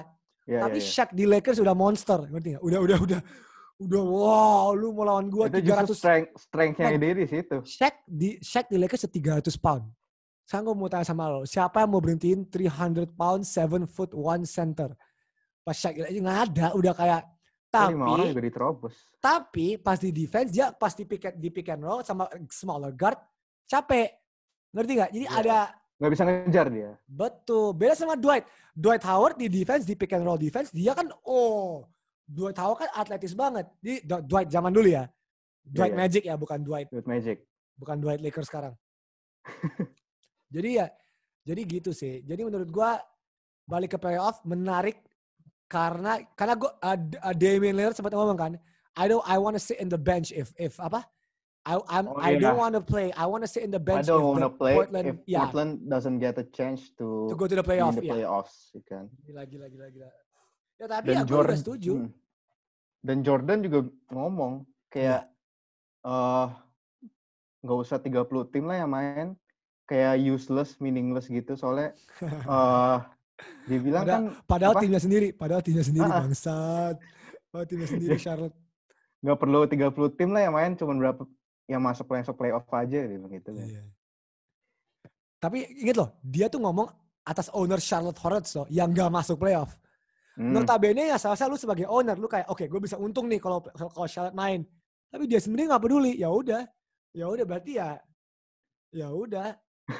Speaker 3: Ya,
Speaker 2: Tapi
Speaker 3: ya, ya.
Speaker 2: Shaq di Lakers udah monster, ngerti nggak? Udah, udah, udah, udah. Wow, lu mau lawan gua
Speaker 3: Itu
Speaker 2: tiga
Speaker 3: justru
Speaker 2: ratus.
Speaker 3: strength, strength-nya
Speaker 2: Men,
Speaker 3: dia di situ.
Speaker 2: Shaq di Shaq di Lakers tiga ratus pound. Sekarang gue mau tanya sama lo, siapa yang mau berhentiin three hundred pound, seven foot one center? Pas Shaq aja nggak ada, udah kayak.
Speaker 3: Itu lima orang
Speaker 2: Tapi,
Speaker 3: juga diterobos.
Speaker 2: tapi pas di defense dia pas di pick, di pick and roll sama smaller guard capek, ngerti nggak? Jadi
Speaker 3: Ya.
Speaker 2: ada
Speaker 3: Nggak bisa ngejar dia.
Speaker 2: betul beda sama Dwight. Dwight Howard di defense di pick and roll defense dia kan oh Dwight Howard kan atletis banget. Di Dwight zaman dulu ya, Dwight
Speaker 3: Ya, ya.
Speaker 2: Magic ya bukan Dwight,
Speaker 3: With Magic.
Speaker 2: bukan Dwight Lakers sekarang. Jadi ya, jadi gitu sih. Jadi menurut gua balik ke playoff menarik karena karena gua uh, uh, Damian Lillard sempat ngomong kan, I don't I want to sit in the bench if if apa? I I'm,
Speaker 3: Oh,
Speaker 2: I
Speaker 3: yeah.
Speaker 2: don't want to play. I want to sit in the
Speaker 3: I
Speaker 2: bench
Speaker 3: don't
Speaker 2: if
Speaker 3: want
Speaker 2: the
Speaker 3: to play
Speaker 2: Portland
Speaker 3: if
Speaker 2: yeah,
Speaker 3: Portland doesn't get a chance to,
Speaker 2: to go to the
Speaker 3: be
Speaker 2: playoff.
Speaker 3: in the
Speaker 2: Yeah.
Speaker 3: playoffs. You can.
Speaker 2: Gila gila gila gila. Ya tapi
Speaker 3: Dan
Speaker 2: ya gue
Speaker 3: Jordan
Speaker 2: juga setuju.
Speaker 3: hmm. Dan Jordan juga ngomong kayak eh nggak usah tiga puluh tim lah yang main, kayak useless, meaningless gitu soalnya eh dia bilang
Speaker 2: Padahal,
Speaker 3: kan
Speaker 2: padahal
Speaker 3: apa?
Speaker 2: timnya sendiri, padahal timnya sendiri
Speaker 3: Ah, ah.
Speaker 2: bangsat. Padahal timnya sendiri Charlotte.
Speaker 3: Nggak perlu tiga puluh tim lah yang main, cuma berapa yang masuk masuk playoff aja gitu gitu kan.
Speaker 2: Iya. Tapi inget loh, dia tuh ngomong atas owner Charlotte Hornets loh, yang gak masuk playoff.
Speaker 3: Hmm.
Speaker 2: Notabene ya salah lu sebagai owner, lu kayak oke okay, gue bisa untung nih kalau kalau Charlotte main. Tapi dia sendiri nggak peduli. Ya udah, ya udah berarti ya, ya udah.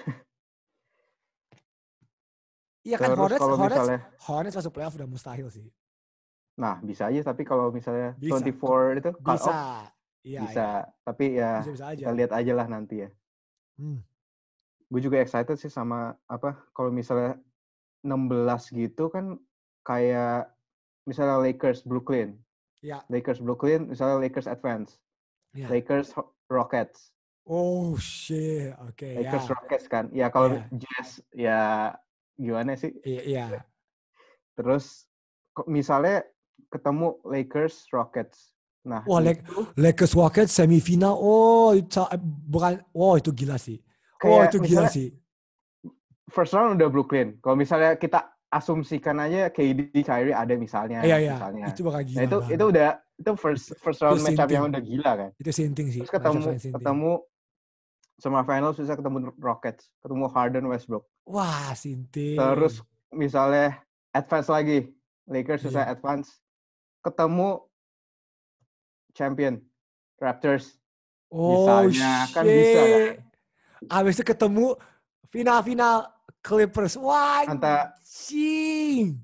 Speaker 2: Iya kan
Speaker 3: Terus
Speaker 2: Hornets,
Speaker 3: kalau
Speaker 2: Hornets,
Speaker 3: misalnya,
Speaker 2: Hornets masuk playoff udah mustahil sih.
Speaker 3: nah bisa aja tapi kalau misalnya
Speaker 2: Bisa.
Speaker 3: dua puluh empat itu cut
Speaker 2: Bisa,
Speaker 3: off,
Speaker 2: iya.
Speaker 3: bisa.
Speaker 2: Iya.
Speaker 3: Tapi ya
Speaker 2: Bisa bisa aja.
Speaker 3: kita lihat aja lah nanti ya.
Speaker 2: Hmm.
Speaker 3: Gue juga excited sih sama apa kalau misalnya enam belas gitu kan kayak misalnya Lakers Brooklyn.
Speaker 2: Ya.
Speaker 3: Lakers Brooklyn, misalnya Lakers advance.
Speaker 2: Ya.
Speaker 3: Lakers Rockets.
Speaker 2: Oh shit, oke okay,
Speaker 3: Lakers
Speaker 2: ya.
Speaker 3: Rockets kan. Ya kalau
Speaker 2: Ya.
Speaker 3: Jazz ya gimana sih?
Speaker 2: Iya, iya.
Speaker 3: Terus kok misalnya ketemu Lakers Rockets. Nah,
Speaker 2: Wah,
Speaker 3: itu
Speaker 2: Lakers Rockets semifinal. Oh, itu bukan. Oh, itu gila sih. Oh,
Speaker 3: kayak
Speaker 2: itu gila
Speaker 3: misalnya
Speaker 2: sih.
Speaker 3: first round udah Brooklyn. Kalau misalnya kita asumsikan aja K D, Kyrie ada misalnya,
Speaker 2: Iya, iya.
Speaker 3: misalnya.
Speaker 2: Itu bakal gila.
Speaker 3: Nah, itu
Speaker 2: banget.
Speaker 3: itu udah itu first first round
Speaker 2: Itu
Speaker 3: matchup
Speaker 2: sinting.
Speaker 3: yang udah gila kan.
Speaker 2: Itu sinting sih.
Speaker 3: Terus ketemu
Speaker 2: Matchup sinting.
Speaker 3: ketemu semifinals bisa ketemu Rockets, ketemu Harden Westbrook.
Speaker 2: Wah, sinting.
Speaker 3: Terus misalnya advance lagi, Lakers bisa
Speaker 2: Iya.
Speaker 3: advance, ketemu champion Raptors.
Speaker 2: Oh,
Speaker 3: misalnya kan bisa kan.
Speaker 2: shit. Abis itu ketemu final-final Clippers. Wah,
Speaker 3: Anta
Speaker 2: anjing.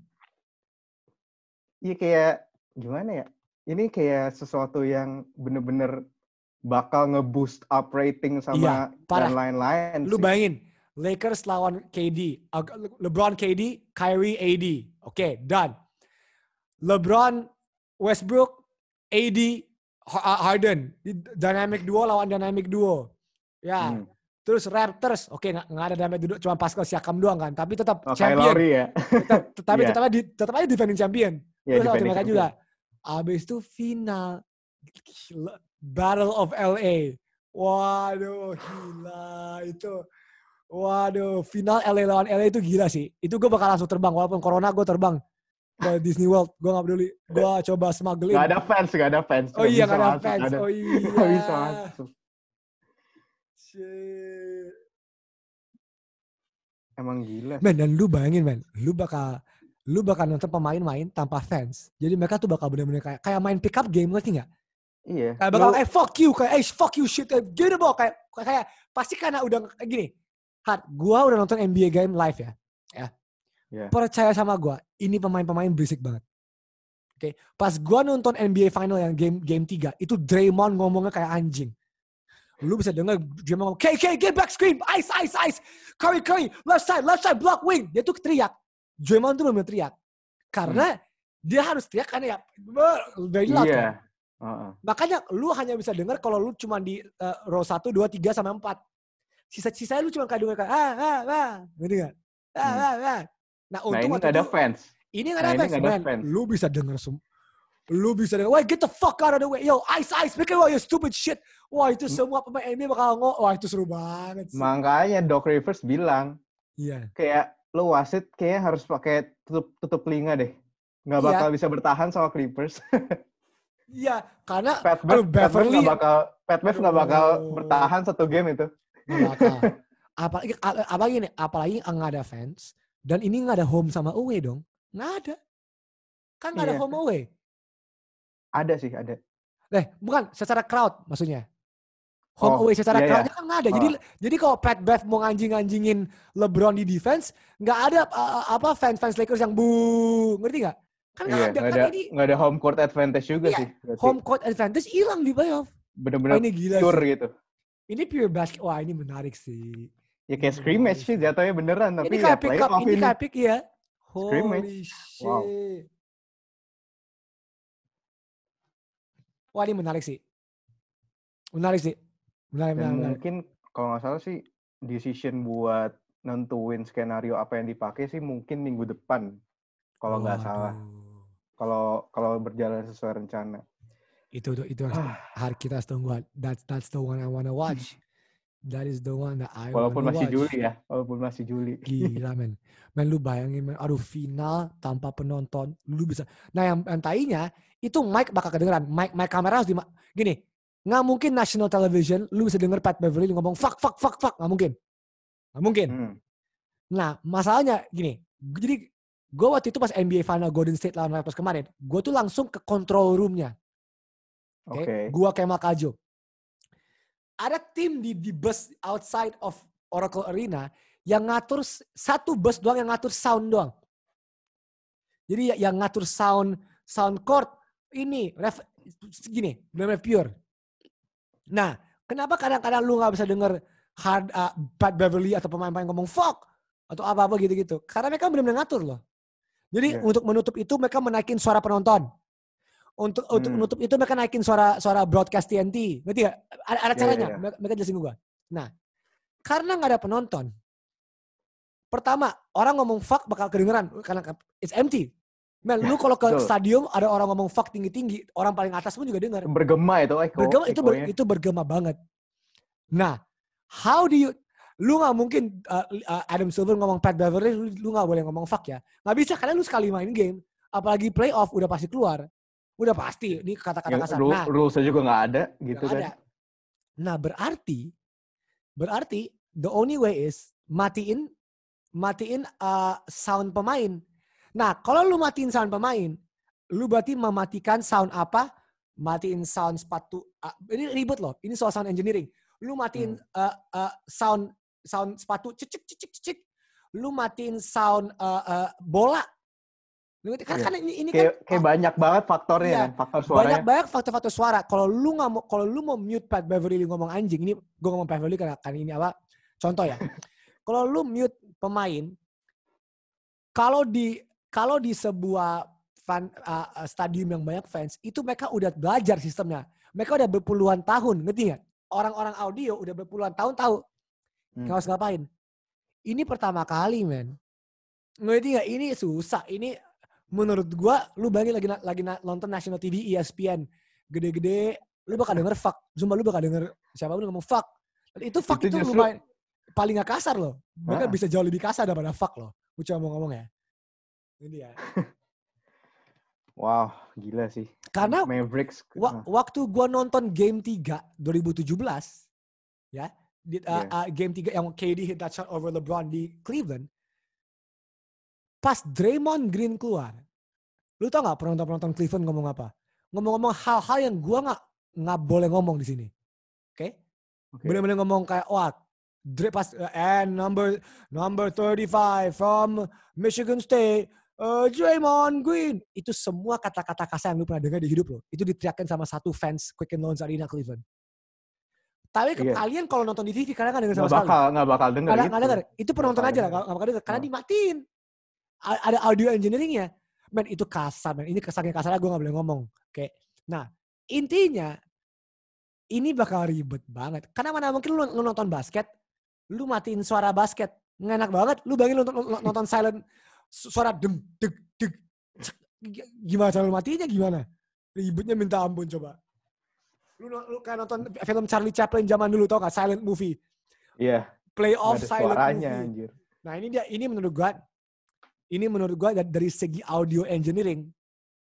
Speaker 3: iya kayak gimana ya? Ini kayak sesuatu yang bener-bener bakal nge-boost up rating sama
Speaker 2: Iya, parah.
Speaker 3: dan lain-lain.
Speaker 2: Lu
Speaker 3: sih.
Speaker 2: bayangin, Lakers lawan K D. Uh, LeBron K D, Kyrie A D. Oke, okay, done. LeBron, Westbrook, A D, Harden. Dynamic duo lawan dynamic duo. Ya.
Speaker 3: Hmm.
Speaker 2: Terus Raptors, oke okay, nggak nggak ada dynamic duo, cuma Pascal Siakam doang kan. Tapi tetap
Speaker 3: Oh,
Speaker 2: champion.
Speaker 3: Lowry ya.
Speaker 2: Tetap, tapi
Speaker 3: Iya.
Speaker 2: tetap aja, tetap aja defending champion.
Speaker 3: Iya,
Speaker 2: Terus sama
Speaker 3: defending
Speaker 2: mereka
Speaker 3: champion.
Speaker 2: juga. Abis itu final. Gila. Battle of L A. Waduh, gila itu. Waduh, final L A lawan L A itu gila sih. Itu gue bakal langsung terbang. Walaupun corona gue terbang ke Disney World. Gue gak peduli. Gue coba smuggling.
Speaker 3: Gak ada fans, gak ada fans.
Speaker 2: Oh iya,
Speaker 3: bisa
Speaker 2: gak ada
Speaker 3: masuk,
Speaker 2: fans.
Speaker 3: ada.
Speaker 2: Oh iya.
Speaker 3: Gak bisa masuk.
Speaker 2: Shit.
Speaker 3: Emang gila.
Speaker 2: Men, dan lu bayangin men. Lu bakal lu bakal nonton pemain main tanpa fans. Jadi mereka tuh bakal bener-bener kayak kayak main pick up game, ngerti gak?
Speaker 3: Iya.
Speaker 2: Kayak bakal,
Speaker 3: Lu-
Speaker 2: eh fuck you, kayak, eh fuck you shit, kayak gini bro, kayak, kayak pasti karena udah kayak gini. Hat, gua udah nonton N B A game live ya, ya.
Speaker 3: Yeah.
Speaker 2: Percaya sama gua, ini pemain-pemain berisik banget. Oke, okay. Pas gua nonton N B A final yang game game tiga, itu Draymond ngomongnya kayak anjing. Lu bisa dengar Draymond ngomong, K K get back screen, ice ice ice, Curry Curry, left side left side block wing. Dia tuh teriak. Draymond tuh benar-benar teriak. Karena hmm. dia harus teriak karena ya very loud
Speaker 3: Iya.
Speaker 2: kan. Uh-uh. Makanya lu hanya bisa dengar kalau lu cuma di uh, row satu, dua, tiga, sampai empat. Sisa-sisanya lu cuma kayak dengar kayak ah, ah, ah. Ngerti gak? Ah,
Speaker 3: Hmm.
Speaker 2: ah, ah. Nah,
Speaker 3: Nah
Speaker 2: untung
Speaker 3: ini
Speaker 2: waktu
Speaker 3: gak ada
Speaker 2: itu,
Speaker 3: fans.
Speaker 2: ini gak
Speaker 3: Nah,
Speaker 2: ada
Speaker 3: ini
Speaker 2: fans,
Speaker 3: nggak ada
Speaker 2: man.
Speaker 3: fans.
Speaker 2: Lu bisa dengar semua. Lu bisa dengar, wah get the fuck out of the way. Yo, ice, ice, make it, you stupid shit. Wah itu semua pemain N B A bakal ngomong. Wah itu seru banget sih.
Speaker 3: Makanya Doc Rivers bilang,
Speaker 2: Iya.
Speaker 3: kayak lu wasit kayaknya harus pakai tutup tutup telinga deh. nggak
Speaker 2: Iya.
Speaker 3: bakal bisa bertahan sama Clippers.
Speaker 2: Iya, karena
Speaker 3: Pat
Speaker 2: aduh,
Speaker 3: Bev, Pat Bev
Speaker 2: Beverly
Speaker 3: nggak bakal, Pat Bev nggak bakal
Speaker 2: Aduh.
Speaker 3: bertahan satu game itu.
Speaker 2: nggak bakal. Apalagi apalagi nih, apalagi nggak ada fans dan ini nggak ada home sama away dong. Nggak ada. Kan nggak ada
Speaker 3: Iya.
Speaker 2: home away.
Speaker 3: Ada sih, ada.
Speaker 2: Eh, bukan secara crowd maksudnya. Home
Speaker 3: Oh,
Speaker 2: away secara
Speaker 3: iya, iya.
Speaker 2: crowdnya kan nggak ada. Jadi
Speaker 3: Oh.
Speaker 2: jadi kalau Pat Bev mau nganjing-nganjingin LeBron di defense, nggak ada uh, apa fans-fans Lakers yang bu, ngerti nggak? Kan nggak
Speaker 3: Iya,
Speaker 2: ada.
Speaker 3: nggak
Speaker 2: Kan
Speaker 3: ada,
Speaker 2: ini
Speaker 3: nggak ada home court advantage juga
Speaker 2: iya,
Speaker 3: sih. Berarti
Speaker 2: home court advantage hilang di playoff.
Speaker 3: bener-bener
Speaker 2: Oh, ini gila
Speaker 3: pure
Speaker 2: sih.
Speaker 3: gitu.
Speaker 2: Ini pure basket. Wah, ini menarik sih.
Speaker 3: Ya
Speaker 2: Ini
Speaker 3: kayak scrimmage
Speaker 2: menarik
Speaker 3: sih jatuhnya beneran, tapi
Speaker 2: Ini
Speaker 3: ya
Speaker 2: kayak pick up,
Speaker 3: playoff
Speaker 2: ini
Speaker 3: ini.
Speaker 2: kayak pick ya.
Speaker 3: Scrimmage.
Speaker 2: Holy shit.
Speaker 3: Wow.
Speaker 2: Wah, ini menarik sih. Menarik sih. Menarik,
Speaker 3: Dan
Speaker 2: menarik, menarik.
Speaker 3: mungkin kalau nggak salah sih decision buat nentuin skenario apa yang dipakai sih mungkin minggu depan. Kalau nggak salah.
Speaker 2: Waduh.
Speaker 3: Kalau kalau berjalan sesuai rencana.
Speaker 2: Itu itu, itu harus, harus kita harus tunggu. That's that's the one I wanna watch. That is the one that I
Speaker 3: Walaupun
Speaker 2: wanna
Speaker 3: masih
Speaker 2: watch.
Speaker 3: Juli ya. Walaupun masih Juli.
Speaker 2: Gila men. Men lu bayangin men. Aduh final tanpa penonton. Lu bisa. Nah yang, yang tainya itu mic bakal kedengeran. Mic mic kamera harus di gini. Nggak mungkin national television lu bisa denger Pat Beverly ngomong fuck fuck fuck fuck. Nggak mungkin. Nggak mungkin.
Speaker 3: Hmm.
Speaker 2: Nah masalahnya gini. Jadi gue waktu itu pas N B A Final Golden State lawan Raptors kemarin. Gue tuh langsung ke control room-nya. Oke. Okay?
Speaker 3: Oke.
Speaker 2: Gua Kemal Kajo. Ada tim di di bus outside of Oracle Arena yang ngatur satu bus doang yang ngatur sound doang. Jadi yang ngatur sound sound court ini ref, gini, benar-benar pure. Nah, kenapa kadang-kadang lu nggak bisa denger hard uh, Pat Beverly atau pemain-pemain ngomong fuck atau apa-apa gitu-gitu? Karena mereka benar-benar ngatur loh. Jadi
Speaker 3: Yeah.
Speaker 2: untuk menutup itu mereka menaikin suara penonton. Untuk untuk
Speaker 3: Hmm.
Speaker 2: menutup itu mereka naikin suara suara broadcast T N T. Ngerti gak? Ada, ada
Speaker 3: Ya,
Speaker 2: caranya.
Speaker 3: ya, ya.
Speaker 2: Mereka, mereka jelasin gue. Nah, karena nggak ada penonton. Pertama, orang ngomong fuck bakal kedengeran karena it's empty. Man, lu kalau ke
Speaker 3: Betul.
Speaker 2: stadium ada orang ngomong fuck tinggi-tinggi, orang paling atas pun juga dengar.
Speaker 3: Bergema itu echo.
Speaker 2: Bergema itu ber,
Speaker 3: echonya.
Speaker 2: itu bergema banget. Nah, how do you lu nggak mungkin uh, uh, Adam Silver ngomong Pat Beverly, lu, lu nggak boleh ngomong fuck ya. Nggak bisa karena lu sekali main game, apalagi playoff udah pasti keluar. Udah pasti, ini kata-kata
Speaker 3: Ya,
Speaker 2: kasar.
Speaker 3: rule,
Speaker 2: Nah,
Speaker 3: rulesnya juga nggak ada gitu
Speaker 2: nggak
Speaker 3: kan.
Speaker 2: ada. Nah, berarti, berarti the only way is matiin, matiin uh, sound pemain. Nah, kalau lu matiin sound pemain, lu berarti mematikan sound apa? Matiin sound sepatu. Uh, ini ribet loh. Ini soal sound engineering. Lu matiin
Speaker 3: Hmm.
Speaker 2: uh, uh, sound sound sepatu cicik cicik cicik. Lu matiin sound uh, uh, bola. Lu ngerti? Kan,
Speaker 3: Iya.
Speaker 2: kan ini, ini
Speaker 3: Kayak,
Speaker 2: kan
Speaker 3: kayak banyak banget faktornya
Speaker 2: Iya.
Speaker 3: kan, faktor suaranya.
Speaker 2: banyak banyak faktor-faktor suara. Kalau lu nggak mau, kalau lu mau mute Pat Beverly ngomong anjing, ini gue ngomong Pat Beverly karena kan ini apa? Contoh ya. Kalau lu mute pemain, kalau di kalau di sebuah fan, uh, stadium yang banyak fans, itu mereka udah belajar sistemnya. Mereka udah berpuluhan tahun, ngerti nggak? Orang-orang audio udah berpuluhan tahun tahu
Speaker 3: Hmm.
Speaker 2: harus ngapain. Ini pertama kali, men. Ngerti nggak? Ini susah. Ini menurut gua, lu bayangin lagi lagi nonton National T V E S P N gede-gede, lu bakal denger fuck. Sumpah lu bakal denger siapa pun ngomong fuck. Dan itu fuck
Speaker 3: Itu
Speaker 2: itu,
Speaker 3: justru-
Speaker 2: lumayan paling gak kasar loh. Mereka
Speaker 3: Ah.
Speaker 2: bisa jauh lebih kasar daripada fuck loh. Gue cuma mau ngomong ya. Ini ya.
Speaker 3: Wow, gila sih.
Speaker 2: Karena
Speaker 3: Mavericks.
Speaker 2: wa- waktu gua nonton game tiga dua ribu tujuh belas ya, di, uh,
Speaker 3: Yeah.
Speaker 2: uh, game tiga yang K D hit that shot over LeBron di Cleveland. Pas Draymond Green keluar, lu tau gak penonton-penonton Cleveland ngomong apa? Ngomong-ngomong hal-hal yang gua nggak nggak boleh ngomong di sini. Oke? Okay?
Speaker 3: Oke.
Speaker 2: Bener-bener ngomong kayak wah, Dray pas uh, and number number thirty-five from Michigan State, uh, Draymond Green. Itu semua kata-kata kasar yang lu pernah dengar di hidup lo. Itu diteriakin sama satu fans Quicken Loans Arena Cleveland. Tapi ke
Speaker 3: Iya.
Speaker 2: kalian kalau nonton di T V kadang nggak denger sama
Speaker 3: Nggak
Speaker 2: sekali.
Speaker 3: bakal, nggak bakal denger
Speaker 2: Nggak
Speaker 3: gitu.
Speaker 2: nggak denger. Itu penonton
Speaker 3: bakal
Speaker 2: aja lah,
Speaker 3: denger.
Speaker 2: nggak bakal denger karena
Speaker 3: Oh.
Speaker 2: dimatiin. A- Ada audio engineeringnya. Men itu kasar, men. Ini kesaknya kasarnya gue nggak boleh ngomong. Oke. Nah intinya ini bakal ribet banget. Karena mana mungkin lu, lu nonton basket, lu matiin suara basket, nggak enak banget. Lu bayangin lu nonton, nonton silent su- suara dem deg deg. cek. G- Gimana cara lu matiinnya gimana? Ribetnya minta ampun coba. Lu, lu kayak nonton film Charlie Chaplin zaman dulu tau gak? Silent movie.
Speaker 3: Iya.
Speaker 2: Playoff
Speaker 3: Nggak ada
Speaker 2: silent
Speaker 3: suaranya,
Speaker 2: movie.
Speaker 3: anjir.
Speaker 2: Nah ini dia, ini menurut gua, ini menurut gua dari, dari segi audio engineering,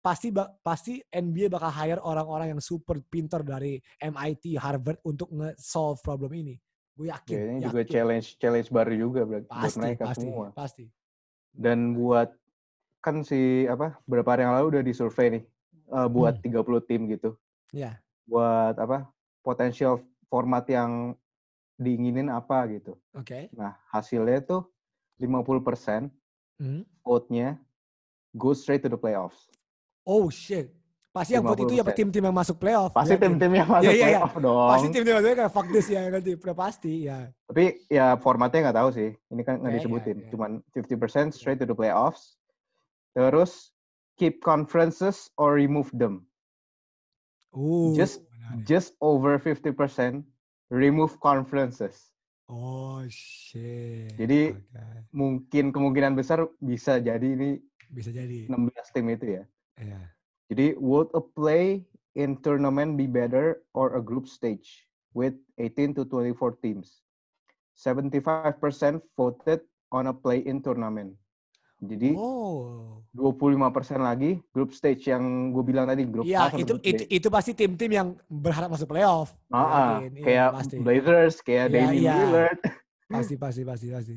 Speaker 2: pasti pasti N B A bakal hire orang-orang yang super pintar dari M I T, Harvard untuk nge-solve problem ini. Gue yakin.
Speaker 3: Ya, ini
Speaker 2: yakin.
Speaker 3: juga challenge challenge baru juga buat
Speaker 2: pasti,
Speaker 3: mereka
Speaker 2: pasti,
Speaker 3: semua.
Speaker 2: Pasti.
Speaker 3: Dan buat kan si apa beberapa hari yang lalu udah disurvey nih uh, buat hmm. tiga puluh tim gitu.
Speaker 2: Iya. Yeah.
Speaker 3: Buat apa? Potensial format yang diinginin apa gitu.
Speaker 2: Oke. Okay.
Speaker 3: Nah, hasilnya tuh lima puluh persen
Speaker 2: hmm.
Speaker 3: vote-nya go straight to the playoffs.
Speaker 2: Oh shit. Pasti yang vote itu ya tim-tim yang masuk playoff.
Speaker 3: Pasti tim-tim yang masuk yeah, playoff yeah, yeah. dong.
Speaker 2: Pasti tim-tim yang masuk kayak fuck this ya nanti pasti ya.
Speaker 3: Tapi ya formatnya nggak tahu sih. Ini kan nggak yeah, disebutin. Yeah, yeah. Cuman fifty percent straight to the playoffs. Terus keep conferences or remove them.
Speaker 2: Ooh,
Speaker 3: just benar. Just over fifty percent remove conferences.
Speaker 2: Oh shit.
Speaker 3: Jadi
Speaker 2: okay.
Speaker 3: mungkin kemungkinan besar bisa jadi ini
Speaker 2: bisa jadi
Speaker 3: enam belas tim itu ya.
Speaker 2: Iya. Yeah.
Speaker 3: Jadi would a play in tournament be better or a group stage with eighteen to twenty-four teams? seventy-five percent voted on a play in tournament. Jadi
Speaker 2: oh.
Speaker 3: dua puluh lima persen lagi group stage yang gue bilang tadi grup
Speaker 2: ya,
Speaker 3: A sama
Speaker 2: itu,
Speaker 3: grup B.
Speaker 2: itu itu pasti tim-tim yang berharap masuk playoff.
Speaker 3: Ah, ah, kayak ya, Blazers, kayak
Speaker 2: ya,
Speaker 3: Damian
Speaker 2: ya.
Speaker 3: Lillard.
Speaker 2: Pasti pasti pasti pasti.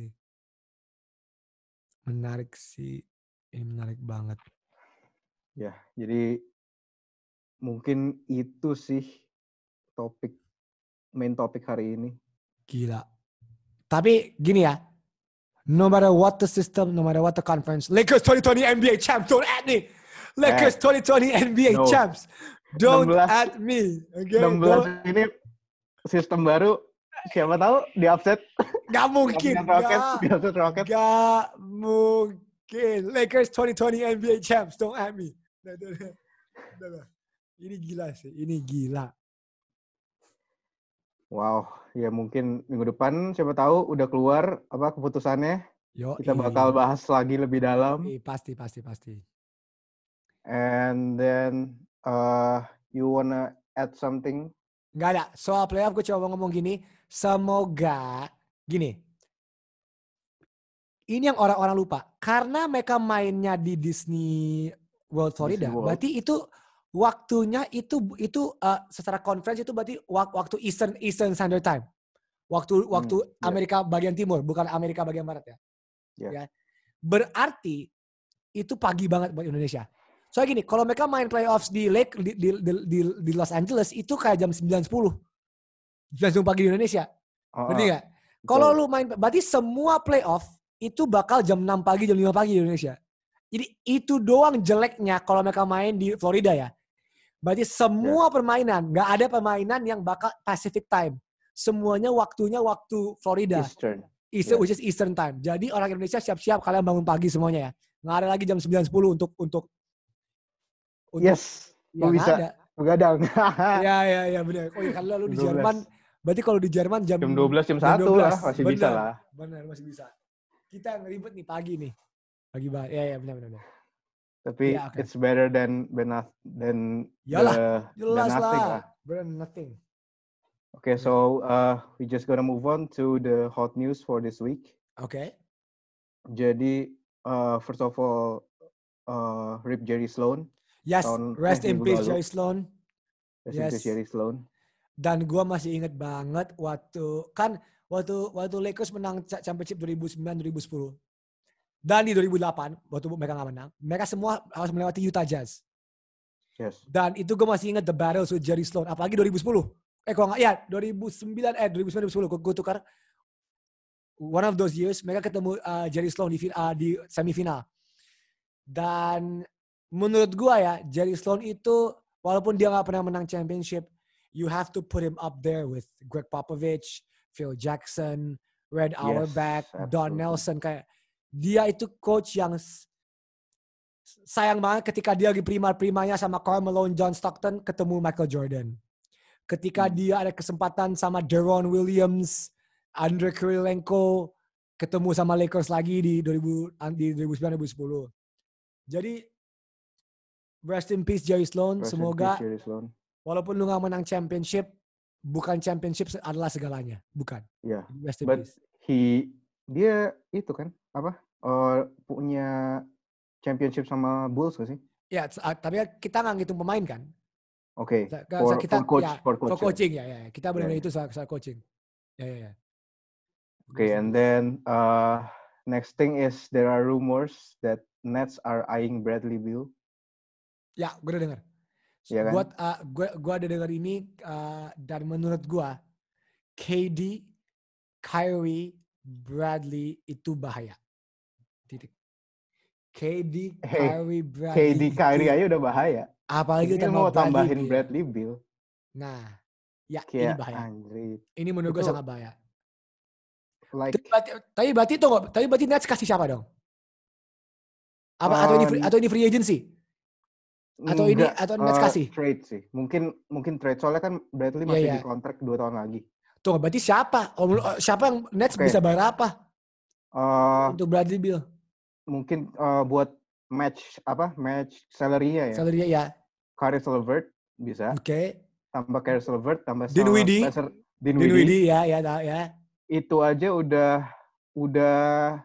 Speaker 2: Menarik sih. Ini menarik banget.
Speaker 3: Ya, jadi mungkin itu sih topik main topik hari ini.
Speaker 2: Gila. Tapi gini ya. No matter what the system, no matter what the conference, Lakers twenty twenty N B A champs, don't add me. Lakers twenty twenty N B A no. champs, don't enam belas, add me. Okay?
Speaker 3: enam belas don't. Ini sistem baru, siapa tahu di upset.
Speaker 2: Gak mungkin.
Speaker 3: Rocket, di upset Rocket.
Speaker 2: Gak mungkin. Lakers twenty twenty N B A champs, don't add me. Nah, nah, nah, nah. Ini gila sih, ini gila.
Speaker 3: Wow, ya mungkin minggu depan siapa tahu udah keluar apa keputusannya.
Speaker 2: Yo,
Speaker 3: kita bakal bahas lagi lebih dalam.
Speaker 2: Iya, pasti, pasti, pasti.
Speaker 3: And then uh, you wanna add something?
Speaker 2: Gak ada. Soal playoff gue coba ngomong gini. Semoga gini. Ini yang orang-orang lupa. Karena mereka mainnya di Disney World Florida, Disney World. Berarti itu waktunya itu itu uh, secara conference itu berarti waktu Eastern Eastern Standard Time. Waktu waktu hmm, yeah. Amerika bagian timur, bukan Amerika bagian barat ya. Yeah. Ya. Berarti itu pagi banget buat Indonesia. Soalnya gini, kalau mereka main playoffs di Lake di di, di, di Los Angeles itu kayak jam sembilan sepuluh. sembilan sepuluh pagi di Indonesia. Oh, berarti enggak? Kalau lu main berarti semua playoff itu bakal jam enam pagi, jam lima pagi di Indonesia. Jadi itu doang jeleknya kalau mereka main di Florida ya. Berarti semua yeah. permainan, nggak ada permainan yang bakal Pacific Time. Semuanya waktunya waktu Florida.
Speaker 3: Eastern.
Speaker 2: Eastern,
Speaker 3: yeah.
Speaker 2: which is Eastern Time. Jadi orang Indonesia siap-siap kalian bangun pagi semuanya ya. Nggak ada lagi jam sembilan sepuluh untuk untuk.
Speaker 3: untuk yes, ya, bisa begadang.
Speaker 2: Ya, ya, ya benar. Oh ya kalau lu di Jerman, berarti kalau di Jerman jam
Speaker 3: jam dua belas, jam satu lah masih bener, bisa lah.
Speaker 2: Benar, masih bisa. Kita yang ribet nih pagi nih. Pagi banget. Ya, ya benar, benar.
Speaker 3: Tapi yeah, okay. it's better than than
Speaker 2: Yalah, the, jelas than nothing lah. Better than nothing.
Speaker 3: Okay, so uh, we just gonna move on to the hot news for this week.
Speaker 2: Okay.
Speaker 3: Jadi uh, first of all, uh, rip Jerry Sloan.
Speaker 2: Yes, rest in peace Jerry Sloan.
Speaker 3: Rest yes. in peace Jerry Sloan.
Speaker 2: Dan gue masih inget banget waktu kan waktu waktu Lakers menang championship dua ribu sembilan dua ribu sepuluh. Dan di dua ribu delapan, waktu mereka nggak menang, mereka semua harus melewati Utah Jazz.
Speaker 3: Yes.
Speaker 2: Dan itu gue masih ingat the battles with Jerry Sloan. Apalagi dua ribu sepuluh. Eh kalau nggak, ya dua ribu sembilan, eh dua ribu sembilan, dua ribu sepuluh. Gue tukar. One of those years, mereka ketemu uh, Jerry Sloan di, uh, di semifinal. Dan menurut gue ya, Jerry Sloan itu, walaupun dia nggak pernah menang championship, you have to put him up there with Greg Popovich, Phil Jackson, Red Auerbach, yes, Don Nelson. Kayak dia itu coach yang sayang banget ketika dia lagi prima-primanya sama Karl Malone, John Stockton, ketemu Michael Jordan. Ketika hmm. dia ada kesempatan sama Deron Williams, Andre Kirilenko, ketemu sama Lakers lagi di dua ribu sembilan dua ribu sepuluh. Jadi rest in peace Jerry Sloan. Rest Semoga
Speaker 3: Jerry Sloan.
Speaker 2: Walaupun lu gak menang championship, bukan championship adalah segalanya, bukan.
Speaker 3: Iya. Yeah.
Speaker 2: Rest in
Speaker 3: But
Speaker 2: peace.
Speaker 3: he dia itu kan apa? Uh, punya championship sama Bulls gak sih?
Speaker 2: Ya, tapi kita nggak ngitung pemain kan?
Speaker 3: Oke.
Speaker 2: Kita,
Speaker 3: For,
Speaker 2: kita
Speaker 3: for coach,
Speaker 2: ya,
Speaker 3: for
Speaker 2: for
Speaker 3: coach.
Speaker 2: coaching ya, ya. Kita benar
Speaker 3: Ya,
Speaker 2: itu soal, soal coaching. Ya, ya, ya.
Speaker 3: Okay, and then uh, next thing is there are rumors that Nets are eyeing Bradley Beal.
Speaker 2: Ya, gue udah dengar.
Speaker 3: Iya kan?
Speaker 2: Gue uh, gue gue ada dengar ini uh, dan menurut gue K D, Kyrie, Bradley itu bahaya. Titik. K D,
Speaker 3: Hey,
Speaker 2: Kyrie,
Speaker 3: K
Speaker 2: Bradley
Speaker 3: D Kyrie
Speaker 2: itu
Speaker 3: aja udah bahaya.
Speaker 2: apalagi
Speaker 3: Ini
Speaker 2: tambah
Speaker 3: mau
Speaker 2: Bradley
Speaker 3: tambahin
Speaker 2: Beal.
Speaker 3: Bradley Beal.
Speaker 2: Nah, ya ini
Speaker 3: Kayak
Speaker 2: bahaya.
Speaker 3: anjir.
Speaker 2: Ini menurut gue
Speaker 3: Itu
Speaker 2: sangat bahaya.
Speaker 3: like
Speaker 2: Tapi berarti, tapi berarti itu nggak- tapi berarti Nets kasih siapa dong? Apa atau ini free,
Speaker 3: uh,
Speaker 2: atau ini free agency? Atau ini
Speaker 3: enggak,
Speaker 2: atau Nets
Speaker 3: uh,
Speaker 2: kasih?
Speaker 3: trade sih. Mungkin mungkin trade soalnya kan Bradley
Speaker 2: Iya,
Speaker 3: masih
Speaker 2: iya.
Speaker 3: di kontrak dua tahun lagi.
Speaker 2: Tuh, berarti siapa? Oh, siapa yang Nets
Speaker 3: Oke.
Speaker 2: bisa bayar apa
Speaker 3: Uh,
Speaker 2: untuk Bradley Beal?
Speaker 3: mungkin uh, buat match apa? Match salary-nya ya.
Speaker 2: Salary ya.
Speaker 3: Caris LeVert bisa.
Speaker 2: Oke. Okay.
Speaker 3: Tambah Caris LeVert, tambah
Speaker 2: Dinwiddie.
Speaker 3: Spencer Dinwiddie.
Speaker 2: Dinwiddie ya, ya, ya.
Speaker 3: Itu aja udah udah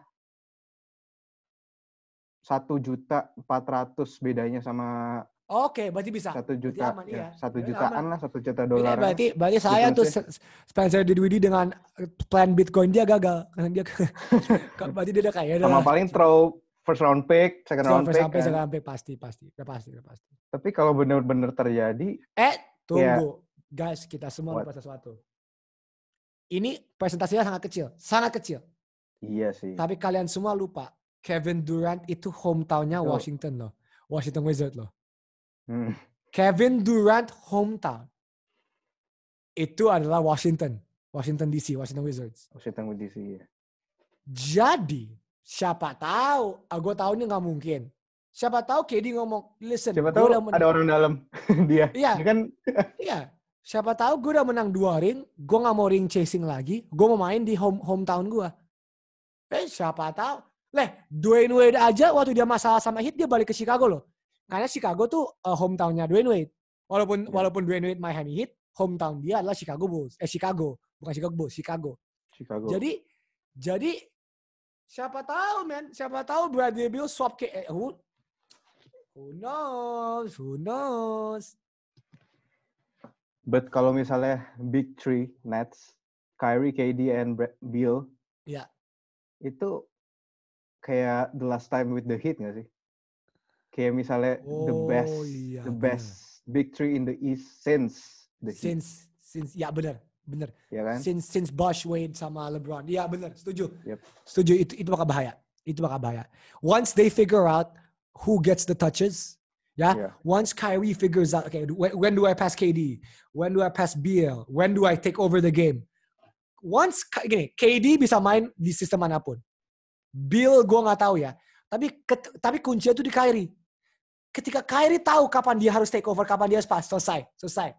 Speaker 3: satu juta empat ratus bedanya sama.
Speaker 2: Oke, berarti bisa.
Speaker 3: Satu juta,
Speaker 2: aman,
Speaker 3: ya,
Speaker 2: iya.
Speaker 3: satu
Speaker 2: Ya,
Speaker 3: jutaan
Speaker 2: aman.
Speaker 3: lah, satu juta dolar.
Speaker 2: Ini berarti, berarti saya tuh Spencer Dinwiddie dengan plan Bitcoin dia gagal karena dia, berarti dia udah kayak.
Speaker 3: Sama paling throw first round pick, second round pick.
Speaker 2: Sampai second round pick pasti, pasti, udah pasti, udah pasti.
Speaker 3: Tapi kalau benar-benar terjadi,
Speaker 2: eh tunggu,
Speaker 3: ya,
Speaker 2: guys, kita semua
Speaker 3: what?
Speaker 2: lupa sesuatu. Ini presentasinya sangat kecil, sangat kecil.
Speaker 3: Iya sih.
Speaker 2: Tapi kalian semua lupa, Kevin Durant itu hometownnya
Speaker 3: Itu.
Speaker 2: Washington loh, Washington Wizards loh.
Speaker 3: Hmm.
Speaker 2: Kevin Durant hometown itu adalah Washington, Washington D C, Washington Wizards.
Speaker 3: Washington D C ya.
Speaker 2: Jadi siapa tahu, ah, gue tahu ini nggak mungkin. Siapa tahu K D ngomong, listen,
Speaker 3: siapa tahu ada orang dalam dia.
Speaker 2: Iya,
Speaker 3: dia kan.
Speaker 2: Iya. Siapa tahu gue udah menang dua ring, gue nggak mau ring chasing lagi, gue mau main di home hometown gue. Eh siapa tahu, leh Dwayne Wade aja waktu dia masalah sama Heat dia balik ke Chicago loh. Karena Chicago tuh uh, hometownnya Dwayne Wade. Walaupun yeah. walaupun Dwayne Wade Miami Heat, hometown dia adalah Chicago Bulls. Eh Chicago, bukan Chicago Bulls, Chicago.
Speaker 3: Chicago.
Speaker 2: Jadi jadi siapa tahu men, siapa tahu Bradley Beal swap ke eh, who, who knows, who knows.
Speaker 3: But kalau misalnya Big Three Nets, Kyrie, K D, and Beal,
Speaker 2: ya,
Speaker 3: itu kayak the last time with the Heat nggak sih? Kayak misalnya
Speaker 2: oh,
Speaker 3: the best,
Speaker 2: iya,
Speaker 3: the best bener. Big Three in the East since the Heat.
Speaker 2: Since, since, ya benar, benar.
Speaker 3: Ya kan?
Speaker 2: Since, since Bosh, Wade sama LeBron, ya benar, setuju,
Speaker 3: yep.
Speaker 2: setuju. Itu, itu bakal bahaya, itu bakal bahaya. Once they figure out who gets the touches. Yeah? yeah. Once Kyrie figures out, okay, when, when do I pass K D? When do I pass Beal? When do I take over the game? Once gini, K D bisa main di sistem manapun. Beal gue nggak tahu ya. Tapi ket, tapi kuncinya itu di Kyrie. Ketika Kyrie tahu kapan dia harus take over, kapan dia harus pass, selesai, selesai,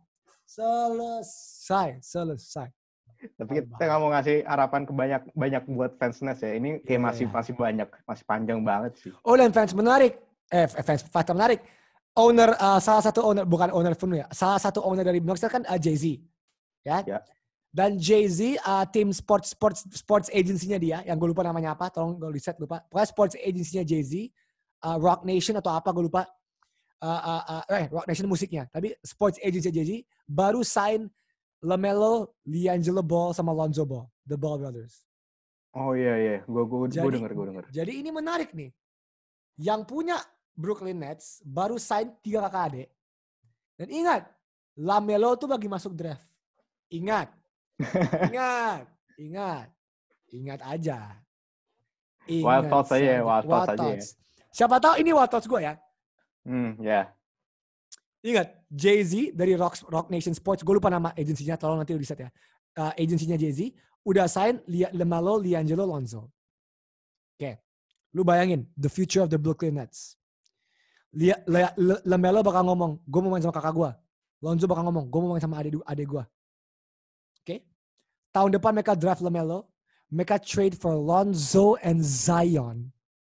Speaker 2: selesai, selesai.
Speaker 3: Tapi kita nggak mau ngasih harapan ke banyak banyak buat fans Nets ya. Ini kayak yeah. masih masih banyak, masih panjang banget sih.
Speaker 2: Oh dan fans menarik, eh fans fakta menarik. Owner uh, salah satu owner bukan owner penuh ya, salah satu owner dari Bucks kan uh, Jay-Z, ya. Yeah. Dan Jay-Z uh, tim sports sports sports agency-nya dia, yang gue lupa namanya apa, tolong gue riset lupa. Pokoknya sports agency-nya Jay-Z, uh, Rock Nation atau apa gue lupa. Uh, uh, uh, eh Rock Nation musiknya, tapi sports agency Jay-Z baru sign LaMelo, LiAngelo Ball sama Lonzo Ball, the Ball brothers.
Speaker 3: Oh iya iya, gue gue gue denger gue denger.
Speaker 2: Jadi ini menarik nih, yang punya Brooklyn Nets baru sign tiga kakak adik. Dan ingat, LaMelo tuh lagi masuk draft. Ingat. Ingat. Ingat. Ingat aja.
Speaker 3: Ingat wild thoughts aja ya. Wild thoughts aja ya.
Speaker 2: Siapa tahu ini wild thoughts gue ya.
Speaker 3: Hmm, ya. Yeah.
Speaker 2: Ingat, Jay-Z dari Rock, Rock Nation Sports. Gue lupa nama agensinya, tolong nanti riset ya. Uh, agensinya Jay-Z. Udah sign LaMelo, LiAngelo, Lonzo. Oke. Okay. Lu bayangin, the future of the Brooklyn Nets. Lia, Le, Le, LaMelo bakal ngomong, gue mau main sama kakak gue. Lonzo bakal ngomong, gue mau main sama adik, adik gue. Oke. Okay? Tahun depan mereka draft LaMelo. Mereka trade for Lonzo and Zion.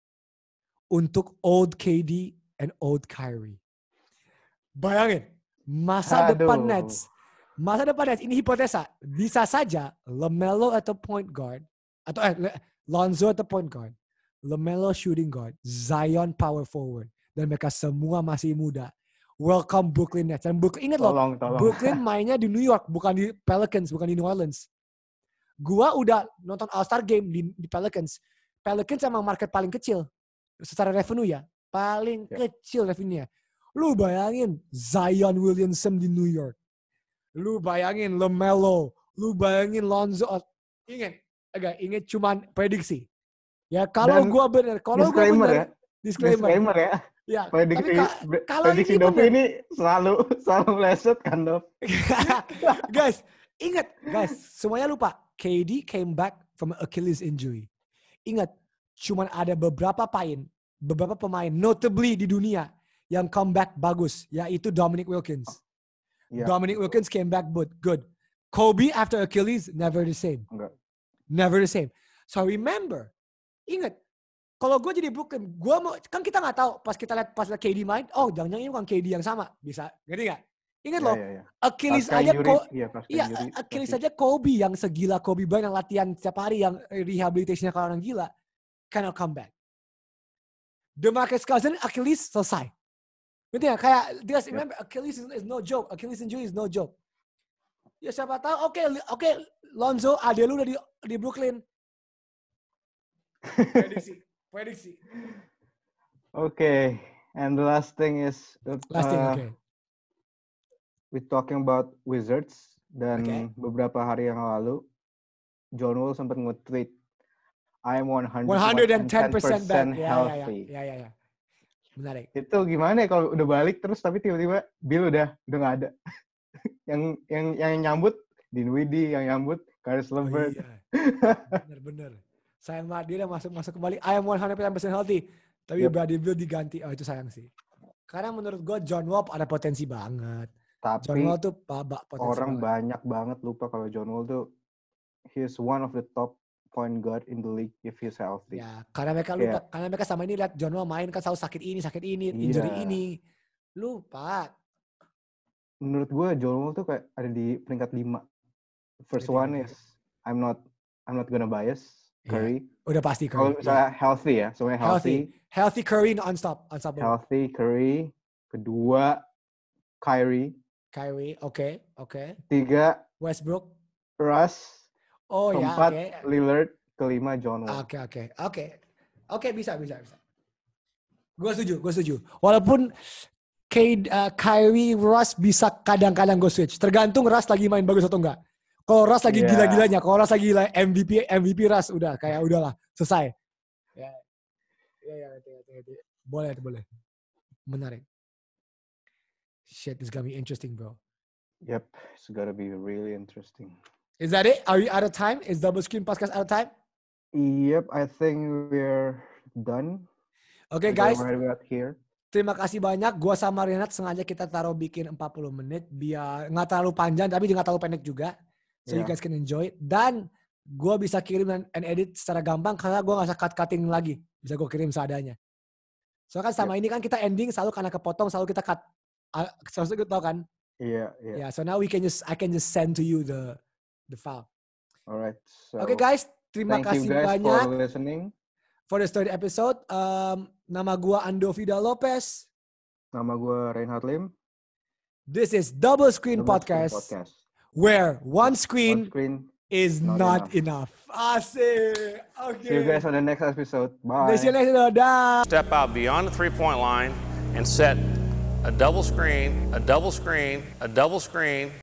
Speaker 2: Untuk old K D and old Kyrie. Bayangin. Masa Aduh. depan Nets. Masa depan Nets, ini hipotesa. Bisa saja LaMelo atau point guard. Atau eh, Lonzo atau point guard. LaMelo shooting guard. Zion power forward. dan mereka semua masih muda. Welcome Brooklyn Nets. Dan Brooklyn, ingat loh,
Speaker 3: Tolong, tolong.
Speaker 2: Brooklyn mainnya di New York, bukan di Pelicans, bukan di New Orleans. Gua udah nonton All-Star Game di, di Pelicans. Pelicans emang market paling kecil secara revenue ya, paling
Speaker 3: Ya.
Speaker 2: kecil revenue-nya. Lu bayangin Zion Williamson di New York. Lu bayangin LaMelo, lu bayangin Lonzo. Ingat, agak ingat cuman prediksi. Ya kalau
Speaker 3: Dan
Speaker 2: gua bener, kalau gua
Speaker 3: disclaimer
Speaker 2: bener,
Speaker 3: ya.
Speaker 2: disclaimer.
Speaker 3: Disclaimer ya.
Speaker 2: Ya,
Speaker 3: Prediksi,
Speaker 2: tapi ka- kalau
Speaker 3: prediksi
Speaker 2: ini
Speaker 3: Dovi
Speaker 2: bener.
Speaker 3: ini selalu selalu meleset kan, Dov?
Speaker 2: Guys, ingat guys, semuanya lupa. K D came back from Achilles injury. Ingat, cuman ada beberapa pemain, beberapa pemain notably di dunia yang comeback bagus, yaitu Dominic Wilkins.
Speaker 3: Ya.
Speaker 2: Dominic Wilkins came back but good. Kobe after Achilles never the same.
Speaker 3: Enggak.
Speaker 2: Never the same. So remember, ingat, kalau gue jadi Brooklyn, gue mau kan kita nggak tahu pas kita lihat pas lihat K D main, oh jangan-jangan ini bukan K D yang sama, bisa, ngerti nggak? Ingat
Speaker 3: Ya,
Speaker 2: loh,
Speaker 3: ya, ya.
Speaker 2: Achilles
Speaker 3: Pasca
Speaker 2: aja
Speaker 3: injury,
Speaker 2: kok,
Speaker 3: iya, pasca
Speaker 2: iya
Speaker 3: injury,
Speaker 2: Achilles
Speaker 3: pasti.
Speaker 2: aja Kobe yang segila Kobe Bryant yang latihan setiap hari, yang rehabilitasinya kalau orang gila, cannot come back. DeMarcus Cousins Achilles selesai. Ngerti nggak? Kayak just remember Achilles is, is no joke, Achilles injury is no joke. Ya siapa tahu, oke oke Lonzo, ade lu udah di, di Brooklyn. Prediksi, prediksi.
Speaker 3: Okay, and the last thing is uh,
Speaker 2: Last thing, oke.
Speaker 3: we talking about Wizards dan
Speaker 2: Okay.
Speaker 3: beberapa hari yang lalu John Wall sempat nge-tweet I am one hundred
Speaker 2: ten percent back. Ya, ya, ya,
Speaker 3: healthy.
Speaker 2: ya, ya, ya. Menarik.
Speaker 3: Itu gimana ya kalau udah balik terus tapi tiba-tiba Bill udah udah nggak ada. yang yang yang nyambut Dinwiddie, yang nyambut Caris
Speaker 2: Oh,
Speaker 3: LeVert.
Speaker 2: iya. Bener-bener. Sayang banget dia udah masuk-masuk kembali. I am one hundred percent healthy. Tapi
Speaker 3: Yep.
Speaker 2: Bradley Beal diganti. Oh itu sayang sih. Karena menurut gue John Wall ada potensi banget. John
Speaker 3: Tapi
Speaker 2: Wall tuh babak potensi
Speaker 3: orang
Speaker 2: banget.
Speaker 3: banyak banget lupa kalau John Wall tuh he's one of the top point guard in the league if he's healthy.
Speaker 2: Ya, karena mereka lupa. Karena mereka sama ini lihat John Wall main kan selalu sakit ini, sakit ini, injury
Speaker 3: Iya.
Speaker 2: ini. Lupa.
Speaker 3: Menurut gue John Wall tuh kayak ada di peringkat lima. First
Speaker 2: Ngerti,
Speaker 3: one
Speaker 2: ngerti.
Speaker 3: is I'm not I'm not gonna bias Curry.
Speaker 2: Udah pasti
Speaker 3: Kalau
Speaker 2: Curry.
Speaker 3: misalnya healthy ya, semuanya
Speaker 2: Healthy.
Speaker 3: healthy.
Speaker 2: Healthy Curry non-stop. Unstoppable.
Speaker 3: Healthy Curry. Kedua Kyrie.
Speaker 2: Kyrie, oke, oke.
Speaker 3: Tiga
Speaker 2: Westbrook.
Speaker 3: Russ.
Speaker 2: Oh ya,
Speaker 3: Keempat
Speaker 2: oke.
Speaker 3: Lillard. Kelima John Wall.
Speaker 2: Oke, oke, oke. Oke, bisa, bisa, bisa. Gue setuju, gue setuju. Walaupun K, uh, Kyrie, Russ bisa kadang-kadang gue switch. Tergantung Russ lagi main bagus atau enggak. Kalau Russ lagi
Speaker 3: Yeah.
Speaker 2: gila-gilanya, kalau Russ lagi gila M V P, M V P Russ udah kayak udahlah, selesai. Ya, ya, ya, ngerti, ngerti, ngerti. Boleh, boleh. Menarik. Shit, this gonna be interesting, bro.
Speaker 3: Yep, it's gotta be really interesting.
Speaker 2: Is that it? Are we out of time? Is Double Screen Podcast out of time?
Speaker 3: Yep, I think we're done.
Speaker 2: Oke, okay,
Speaker 3: We're
Speaker 2: guys.
Speaker 3: right about here.
Speaker 2: Terima kasih banyak. Gua sama Renat sengaja kita taruh bikin empat puluh menit biar nggak terlalu panjang tapi nggak terlalu pendek juga. So you
Speaker 3: Yeah.
Speaker 2: guys can enjoy it. Dan gua bisa kirim dan and edit secara gampang karena gua nggak usah cut-cutting lagi. Bisa gua kirim seadanya. So kan sama ini kan kita ending selalu karena kepotong selalu kita cut. Uh, Seharusnya kita tahu kan?
Speaker 3: Iya, iya.
Speaker 2: Yeah. So now we can just I can just send to you the the file.
Speaker 3: Alright. So,
Speaker 2: Oke okay, guys, terima
Speaker 3: thank
Speaker 2: kasih
Speaker 3: you guys
Speaker 2: banyak
Speaker 3: for listening.
Speaker 2: for the third episode. Um, nama gua Ando Vida Lopez.
Speaker 3: Nama gue Reinhard Lim.
Speaker 2: This is Double Screen,
Speaker 3: Double Screen
Speaker 2: Podcast,
Speaker 3: Podcast.
Speaker 2: where one
Speaker 3: One
Speaker 2: screen,
Speaker 3: screen.
Speaker 2: is
Speaker 3: not
Speaker 2: not, enough. Asik. Okay.
Speaker 3: See you guys on the next episode. Bye.
Speaker 2: See you next episode. Dah.
Speaker 1: Step out beyond the three-point line and set a double screen, a double screen, a double screen,